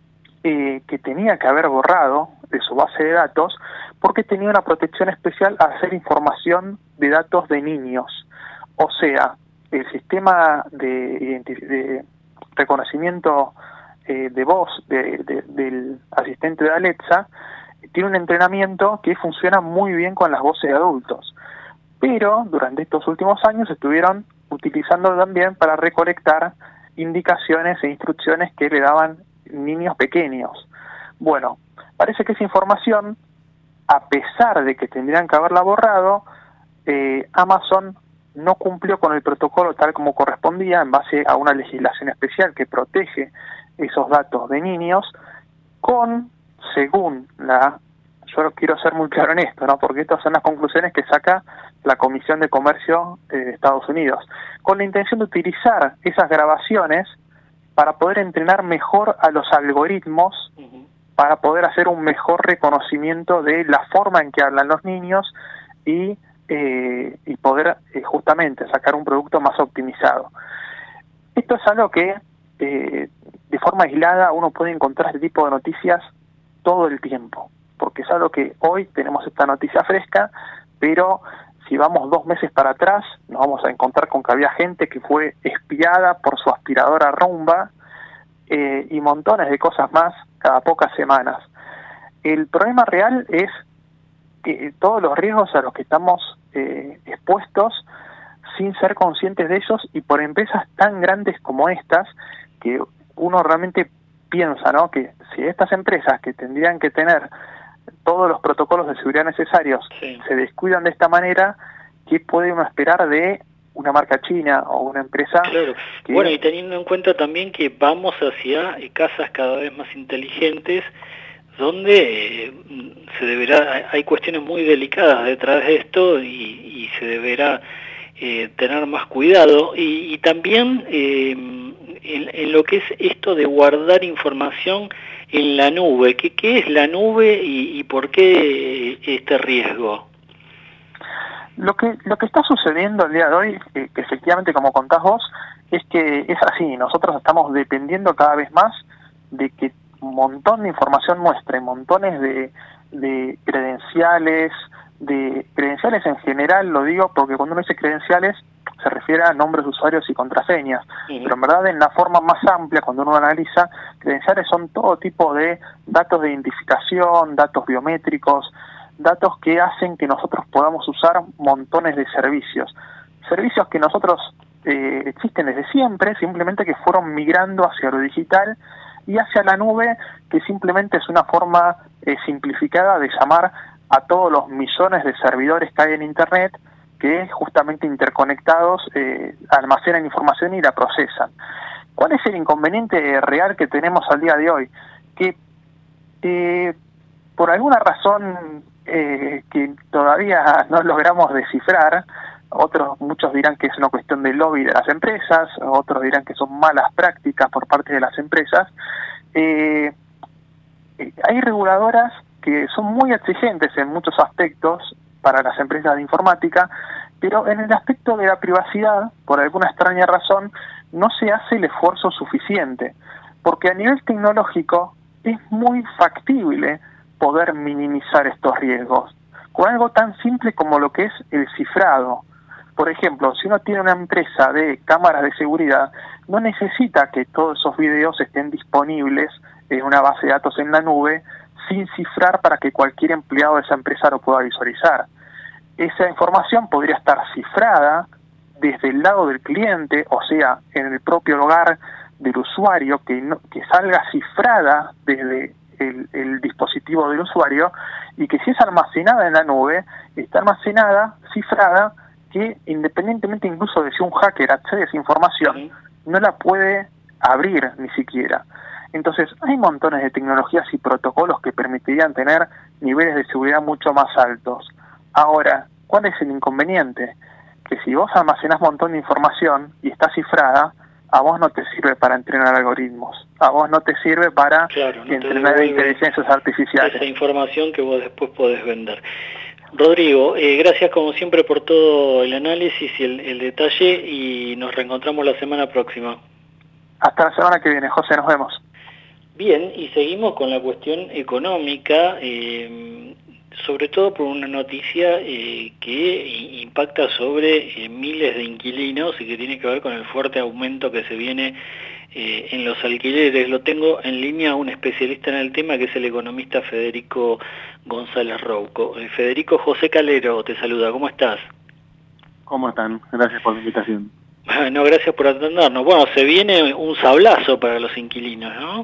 eh, que tenía que haber borrado de su base de datos, porque tenía una protección especial a hacer información de datos de niños. O sea, el sistema de, de reconocimiento eh, de voz de, de, del asistente de Alexa tiene un entrenamiento que funciona muy bien con las voces de adultos, pero durante estos últimos años estuvieron utilizando también para recolectar indicaciones e instrucciones que le daban niños pequeños. Bueno, parece que esa información, a pesar de que tendrían que haberla borrado, eh, Amazon no cumplió con el protocolo tal como correspondía, en base a una legislación especial que protege esos datos de niños, con, según la, yo quiero ser muy claro en esto, ¿no?, porque estas son las conclusiones que saca la Comisión de Comercio de Estados Unidos, con la intención de utilizar esas grabaciones para poder entrenar mejor a los algoritmos, uh-huh. para poder hacer un mejor reconocimiento de la forma en que hablan los niños y Eh, y poder eh, justamente sacar un producto más optimizado. Esto es algo que eh, de forma aislada uno puede encontrar este tipo de noticias todo el tiempo, porque es algo que hoy tenemos esta noticia fresca, pero si vamos dos meses para atrás nos vamos a encontrar con que había gente que fue espiada por su aspiradora Roomba, eh, y montones de cosas más cada pocas semanas. El problema real es que todos los riesgos a los que estamos eh, expuestos sin ser conscientes de ellos, y por empresas tan grandes como estas, que uno realmente piensa, ¿no?, que si estas empresas que tendrían que tener todos los protocolos de seguridad necesarios sí. se descuidan de esta manera, ¿qué puede uno esperar de una marca china o una empresa? Claro. Que... Bueno, y teniendo en cuenta también que vamos hacia casas cada vez más inteligentes, donde eh, se deberá, hay cuestiones muy delicadas detrás de esto, y, y se deberá eh, tener más cuidado, y, y también eh, en, en lo que es esto de guardar información en la nube. ¿Qué, qué es la nube y, y por qué este riesgo? Lo que lo que está sucediendo el día de hoy, eh, que efectivamente, como contás vos, es que es así. Nosotros estamos dependiendo cada vez más de que un montón de información muestra, montones de, de credenciales, de credenciales en general, lo digo porque cuando uno dice credenciales se refiere a nombres de usuarios y contraseñas, sí. Pero en verdad en la forma más amplia, cuando uno analiza, credenciales son todo tipo de datos de identificación, datos biométricos, datos que hacen que nosotros podamos usar montones de servicios. Servicios que nosotros eh, existen desde siempre, simplemente que fueron migrando hacia lo digital y hacia la nube, que simplemente es una forma eh, simplificada de llamar a todos los millones de servidores que hay en Internet, que justamente interconectados eh, almacenan información y la procesan. ¿Cuál es el inconveniente real que tenemos al día de hoy? Que eh, por alguna razón eh, que todavía no logramos descifrar, otros, muchos dirán que es una cuestión de lobby de las empresas, otros dirán que son malas prácticas por parte de las empresas, eh, hay reguladoras que son muy exigentes en muchos aspectos para las empresas de informática, pero en el aspecto de la privacidad, por alguna extraña razón, no se hace el esfuerzo suficiente, porque a nivel tecnológico es muy factible poder minimizar estos riesgos, con algo tan simple como lo que es el cifrado. Por ejemplo, si uno tiene una empresa de cámaras de seguridad, no necesita que todos esos videos estén disponibles en una base de datos en la nube, sin cifrar para que cualquier empleado de esa empresa lo pueda visualizar. Esa información podría estar cifrada desde el lado del cliente, o sea, en el propio hogar del usuario, que, no, que salga cifrada desde el, el dispositivo del usuario, y que si es almacenada en la nube, está almacenada, cifrada, que independientemente incluso de si un hacker accede a esa información, no la puede abrir ni siquiera. Entonces, hay montones de tecnologías y protocolos que permitirían tener niveles de seguridad mucho más altos. Ahora, ¿cuál es el inconveniente? Que si vos almacenás un montón de información y está cifrada, a vos no te sirve para entrenar algoritmos, a vos no te sirve para claro, no entrenar inteligencias artificiales. Esa información que vos después podés vender. Rodrigo, eh, gracias como siempre por todo el análisis y el, el detalle, y nos reencontramos la semana próxima. Hasta la semana que viene, José, nos vemos. Bien, y seguimos con la cuestión económica, eh, sobre todo por una noticia eh, que impacta sobre eh, miles de inquilinos y que tiene que ver con el fuerte aumento que se viene eh, en los alquileres. Lo tengo en línea a un especialista en el tema, que es el economista Federico González Rouco. Eh, Federico, José Calero te saluda, ¿cómo estás? ¿Cómo están? Gracias por la invitación. No, gracias por atendernos. Bueno, se viene un sablazo para los inquilinos, ¿no?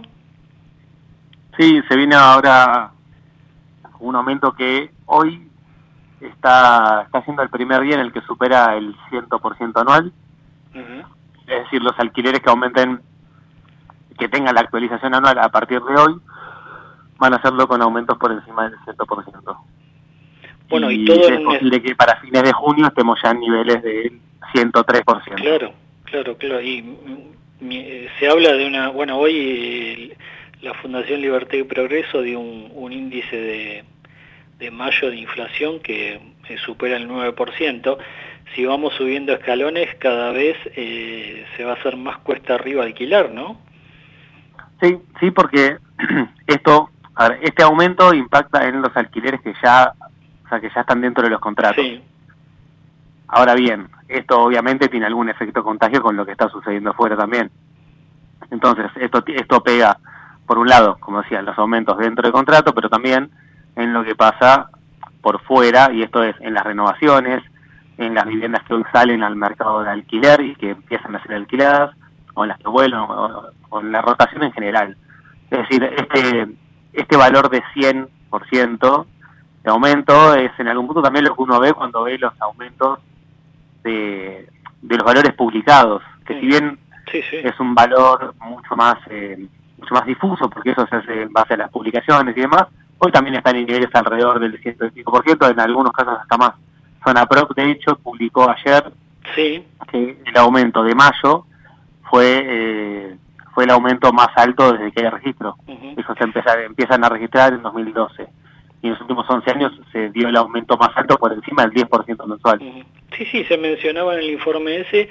Sí, se viene ahora un aumento que hoy está está siendo el primer día en el que supera el cien por ciento anual. Uh-huh. Es decir, los alquileres que aumenten, que tengan la actualización anual a partir de hoy, van a hacerlo con aumentos por encima del cien por ciento. Bueno, y, y todo es posible que para fines de junio estemos ya en niveles del ciento tres por ciento. Claro, claro, claro. Y mi, se habla de una... Bueno, hoy... Eh, la Fundación Libertad y Progreso dio un, un índice de, de mayo de inflación que eh, supera el nueve por ciento. Si vamos subiendo escalones, cada vez eh, se va a hacer más cuesta arriba alquilar, ¿no? Sí, sí, porque esto, a ver, este aumento impacta en los alquileres que ya, o sea, que ya están dentro de los contratos. Sí. Ahora bien, esto obviamente tiene algún efecto contagio con lo que está sucediendo afuera también. Entonces, esto esto pega, por un lado, como decía, los aumentos dentro del contrato, pero también en lo que pasa por fuera, y esto es en las renovaciones, en las viviendas que hoy salen al mercado de alquiler y que empiezan a ser alquiladas, o en las que vuelven, o, o en la rotación en general. Es decir, este este valor de cien por ciento de aumento es en algún punto también lo que uno ve cuando ve los aumentos de, de los valores publicados, que sí. si bien sí, sí. es un valor mucho más... Eh, mucho más difuso, porque eso se hace en base a las publicaciones y demás, hoy también están en niveles alrededor del ciento veinticinco por ciento, en algunos casos hasta más. Zonaprop, de hecho, publicó ayer sí. que el aumento de mayo fue eh, fue el aumento más alto desde que hay registro. Uh-huh. Eso se empieza, empiezan a registrar en dos mil doce. Y en los últimos once años se dio el aumento más alto por encima del diez por ciento mensual. Uh-huh. Sí, sí, se mencionaba en el informe ese,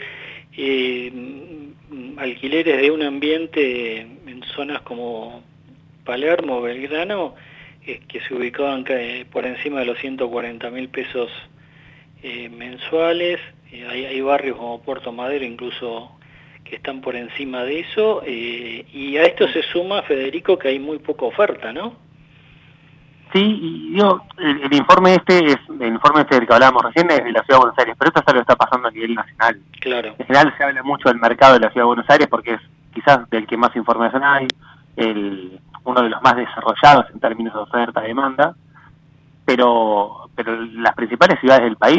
eh, alquileres de un ambiente en zonas como Palermo, Belgrano, eh, que se ubicaban eh, por encima de los ciento cuarenta mil pesos eh, mensuales, Eh, hay, hay barrios como Puerto Madero incluso que están por encima de eso, eh, y a esto se suma, Federico, que hay muy poca oferta, ¿no? Sí, y digo, el, el informe este, es el informe este del que hablábamos recién, es de la Ciudad de Buenos Aires, pero esto es algo que está pasando a nivel nacional. Claro. En general se habla mucho del mercado de la Ciudad de Buenos Aires porque es quizás del que más información hay, el, uno de los más desarrollados en términos de oferta-demanda, pero, pero las principales ciudades del país,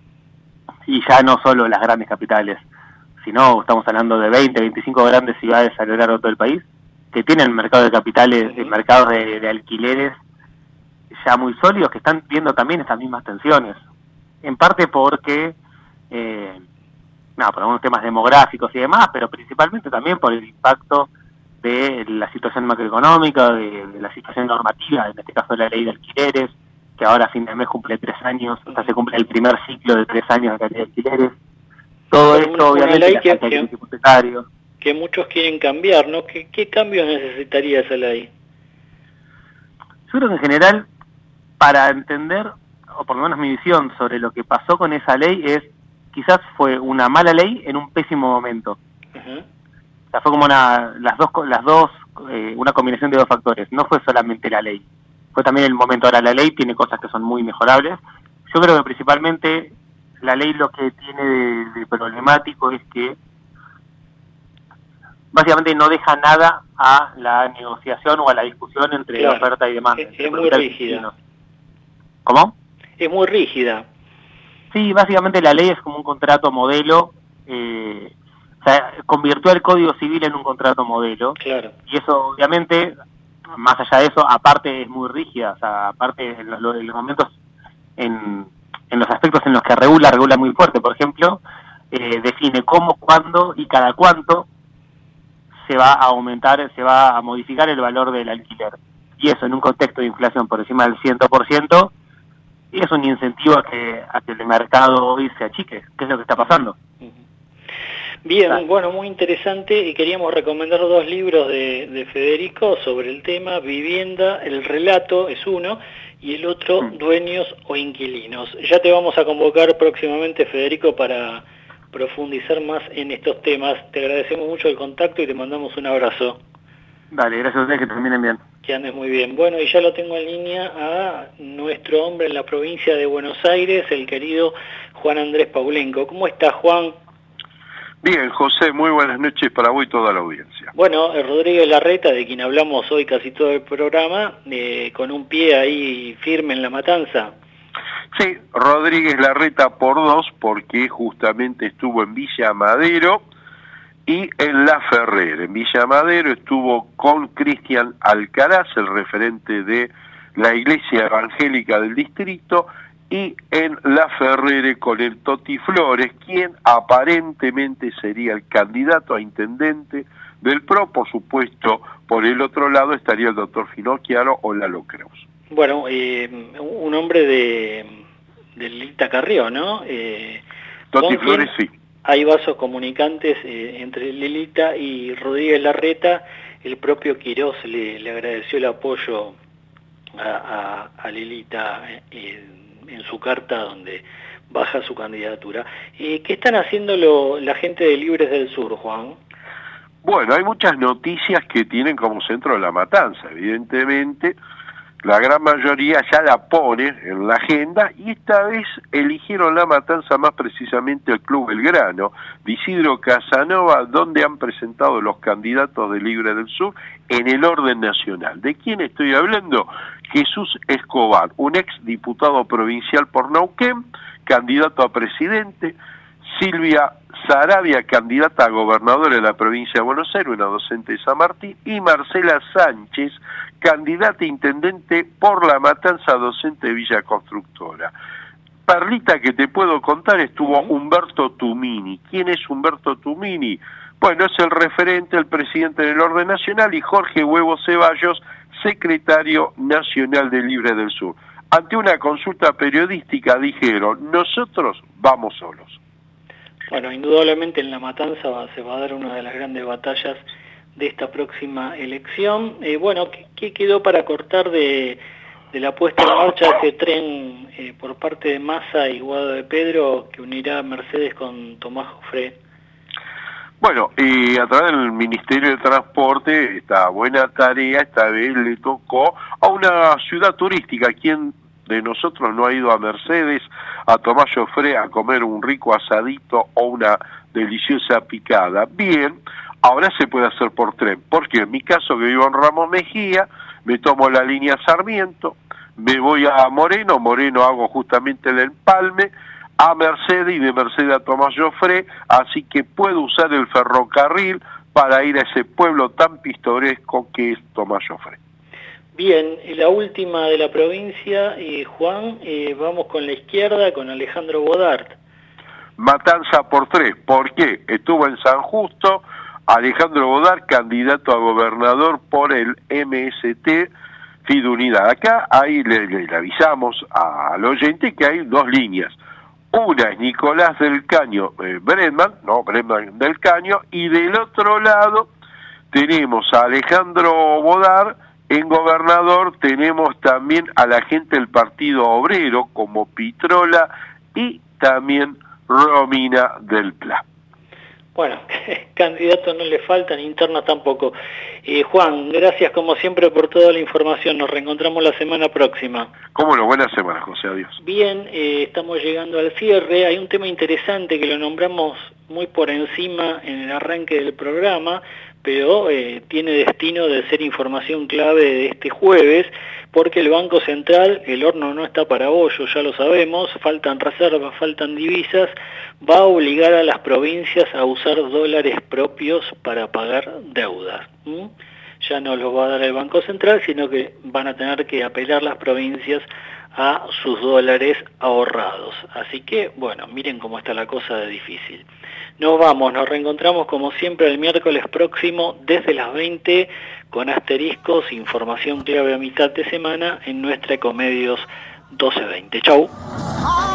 y ya no solo las grandes capitales, sino estamos hablando de veinte, veinticinco grandes ciudades a lo largo de todo el país, que tienen mercado de capitales, uh-huh. mercados de, de alquileres ya muy sólidos, que están viendo también estas mismas tensiones. En parte porque, eh, no, por algunos temas demográficos y demás, pero principalmente también por el impacto de la situación macroeconómica, de, de la situación normativa, en este caso de la ley de alquileres, que ahora a fin de mes cumple tres años, o sea, se cumple el primer ciclo de tres años de la ley de alquileres. Todo Pero esto, una, obviamente, una ley la que, falta de que, crédito hipotecario. que muchos quieren cambiar, ¿no? ¿Qué, qué cambios necesitaría esa ley? Yo creo que en general, para entender, o por lo menos mi visión sobre lo que pasó con esa ley es, quizás fue una mala ley en un pésimo momento. Uh-huh. O sea, fue como una, las dos, las dos, eh, una combinación de dos factores. No fue solamente la ley, fue también el momento. Ahora la ley tiene cosas que son muy mejorables. Yo creo que principalmente la ley lo que tiene de, de problemático es que básicamente no deja nada a la negociación o a la discusión entre claro. oferta y demanda. Es, es muy rígida. ¿Cómo? Es muy rígida. Sí, básicamente la ley es como un contrato modelo, eh, o sea, convirtió el Código Civil en un contrato modelo. Claro. Y eso, obviamente, más allá de eso, aparte es muy rígida, o sea, aparte en los, en los momentos, en, en los aspectos en los que regula, regula muy fuerte. Por ejemplo, eh, define cómo, cuándo y cada cuánto se va a aumentar, se va a modificar el valor del alquiler. Y eso en un contexto de inflación por encima del cien por ciento, y es un incentivo a que, a que el mercado hoy se achique, que es lo que está pasando. Bien, ah. bueno, muy interesante, y queríamos recomendar dos libros de, de Federico sobre el tema. Vivienda, el relato es uno, y el otro, mm. Dueños o Inquilinos. Ya te vamos a convocar próximamente, Federico, para profundizar más en estos temas. Te agradecemos mucho el contacto y te mandamos un abrazo. Dale, gracias a ustedes, que terminen bien. Que andes muy bien. Bueno, y ya lo tengo en línea a nuestro hombre en la provincia de Buenos Aires, el querido Juan Andrés Paulenco. ¿Cómo estás, Juan? Bien, José, muy buenas noches para vos y toda la audiencia. Bueno, Rodríguez Larreta, de quien hablamos hoy casi todo el programa, eh, con un pie ahí firme en la matanza. Sí, Rodríguez Larreta por dos, porque justamente estuvo en Villa Madero y en La Ferrer. En Villa Madero estuvo con Cristian Alcaraz, el referente de la Iglesia Evangélica del distrito, y en La Ferrer con el Toti Flores, quien aparentemente sería el candidato a intendente del P R O. Por supuesto, por el otro lado estaría el doctor Finocchiaro o Lalo Creus. Bueno, eh, un hombre de, de Lilita Carrió, ¿no? Eh, Toti Flores, sí. Hay vasos comunicantes eh, entre Lilita y Rodríguez Larreta. El propio Quirós le, le agradeció el apoyo a, a, a Lilita eh, en su carta donde baja su candidatura. Eh, ¿Qué están haciendo lo, la gente de Libres del Sur, Juan? Bueno, hay muchas noticias que tienen como centro la matanza, evidentemente. La gran mayoría ya la pone en la agenda, y esta vez eligieron la matanza, más precisamente el Club Belgrano de Isidro Casanova, donde han presentado los candidatos de Libre del Sur en el orden nacional. ¿De quién estoy hablando? Jesús Escobar, un ex diputado provincial por Neuquén, candidato a presidente. Silvia Saravia, candidata a gobernadora de la provincia de Buenos Aires, una docente de San Martín, y Marcela Sánchez, candidata a intendente por La Matanza, docente de Villa Constructora. Perlita, que te puedo contar, estuvo Humberto Tumini. ¿Quién es Humberto Tumini? Bueno, es el referente, el presidente del Orden Nacional, y Jorge Huevo Ceballos, secretario nacional de Libre del Sur. Ante una consulta periodística dijeron, nosotros vamos solos. Bueno, indudablemente en La Matanza va, se va a dar una de las grandes batallas de esta próxima elección. Eh, bueno, ¿qué, ¿qué quedó para cortar de, de la puesta en marcha de ese tren eh, por parte de Massa y Guado de Pedro que unirá Mercedes con Tomás Jofré? Bueno, y a través del Ministerio de Transporte, esta buena tarea, esta vez le tocó a una ciudad turística. ¿Quién de nosotros no ha ido a Mercedes, a Tomás Jofré, a comer un rico asadito o una deliciosa picada? Bien, ahora se puede hacer por tren, porque en mi caso, que vivo en Ramos Mejía, me tomo la línea Sarmiento, me voy a Moreno, Moreno hago justamente el empalme, a Mercedes y de Mercedes a Tomás Jofré, así que puedo usar el ferrocarril para ir a ese pueblo tan pintoresco que es Tomás Jofré. Bien, la última de la provincia, eh, Juan, eh, vamos con la izquierda, con Alejandro Bodart. Matanza por tres, ¿por qué? Estuvo en San Justo, Alejandro Bodart, candidato a gobernador por el M S T, Fidunidad. Acá ahí le, le, le avisamos al oyente que hay dos líneas. Una es Nicolás del Caño eh, Bredman, no, Bredman del Caño, y del otro lado tenemos a Alejandro Bodart. En gobernador tenemos también a la gente del Partido Obrero, como Pitrola y también Romina del Pla. Bueno, candidatos no le faltan, internos tampoco. Eh, Juan, gracias como siempre por toda la información. Nos reencontramos la semana próxima. Cómo no, buena semana, José, adiós. Bien, eh, estamos llegando al cierre. Hay un tema interesante que lo nombramos muy por encima en el arranque del programa, pero eh, tiene destino de ser información clave de este jueves, porque el Banco Central, el horno no está para bollos, ya lo sabemos, faltan reservas, faltan divisas, va a obligar a las provincias a usar dólares propios para pagar deudas. ¿Mm? Ya no los va a dar el Banco Central, sino que van a tener que apelar las provincias a sus dólares ahorrados. Así que, bueno, miren cómo está la cosa de difícil. Nos vamos, nos reencontramos como siempre el miércoles próximo desde las veinte con asteriscos, información clave a mitad de semana en nuestra Ecomedios doce veinte. Chau.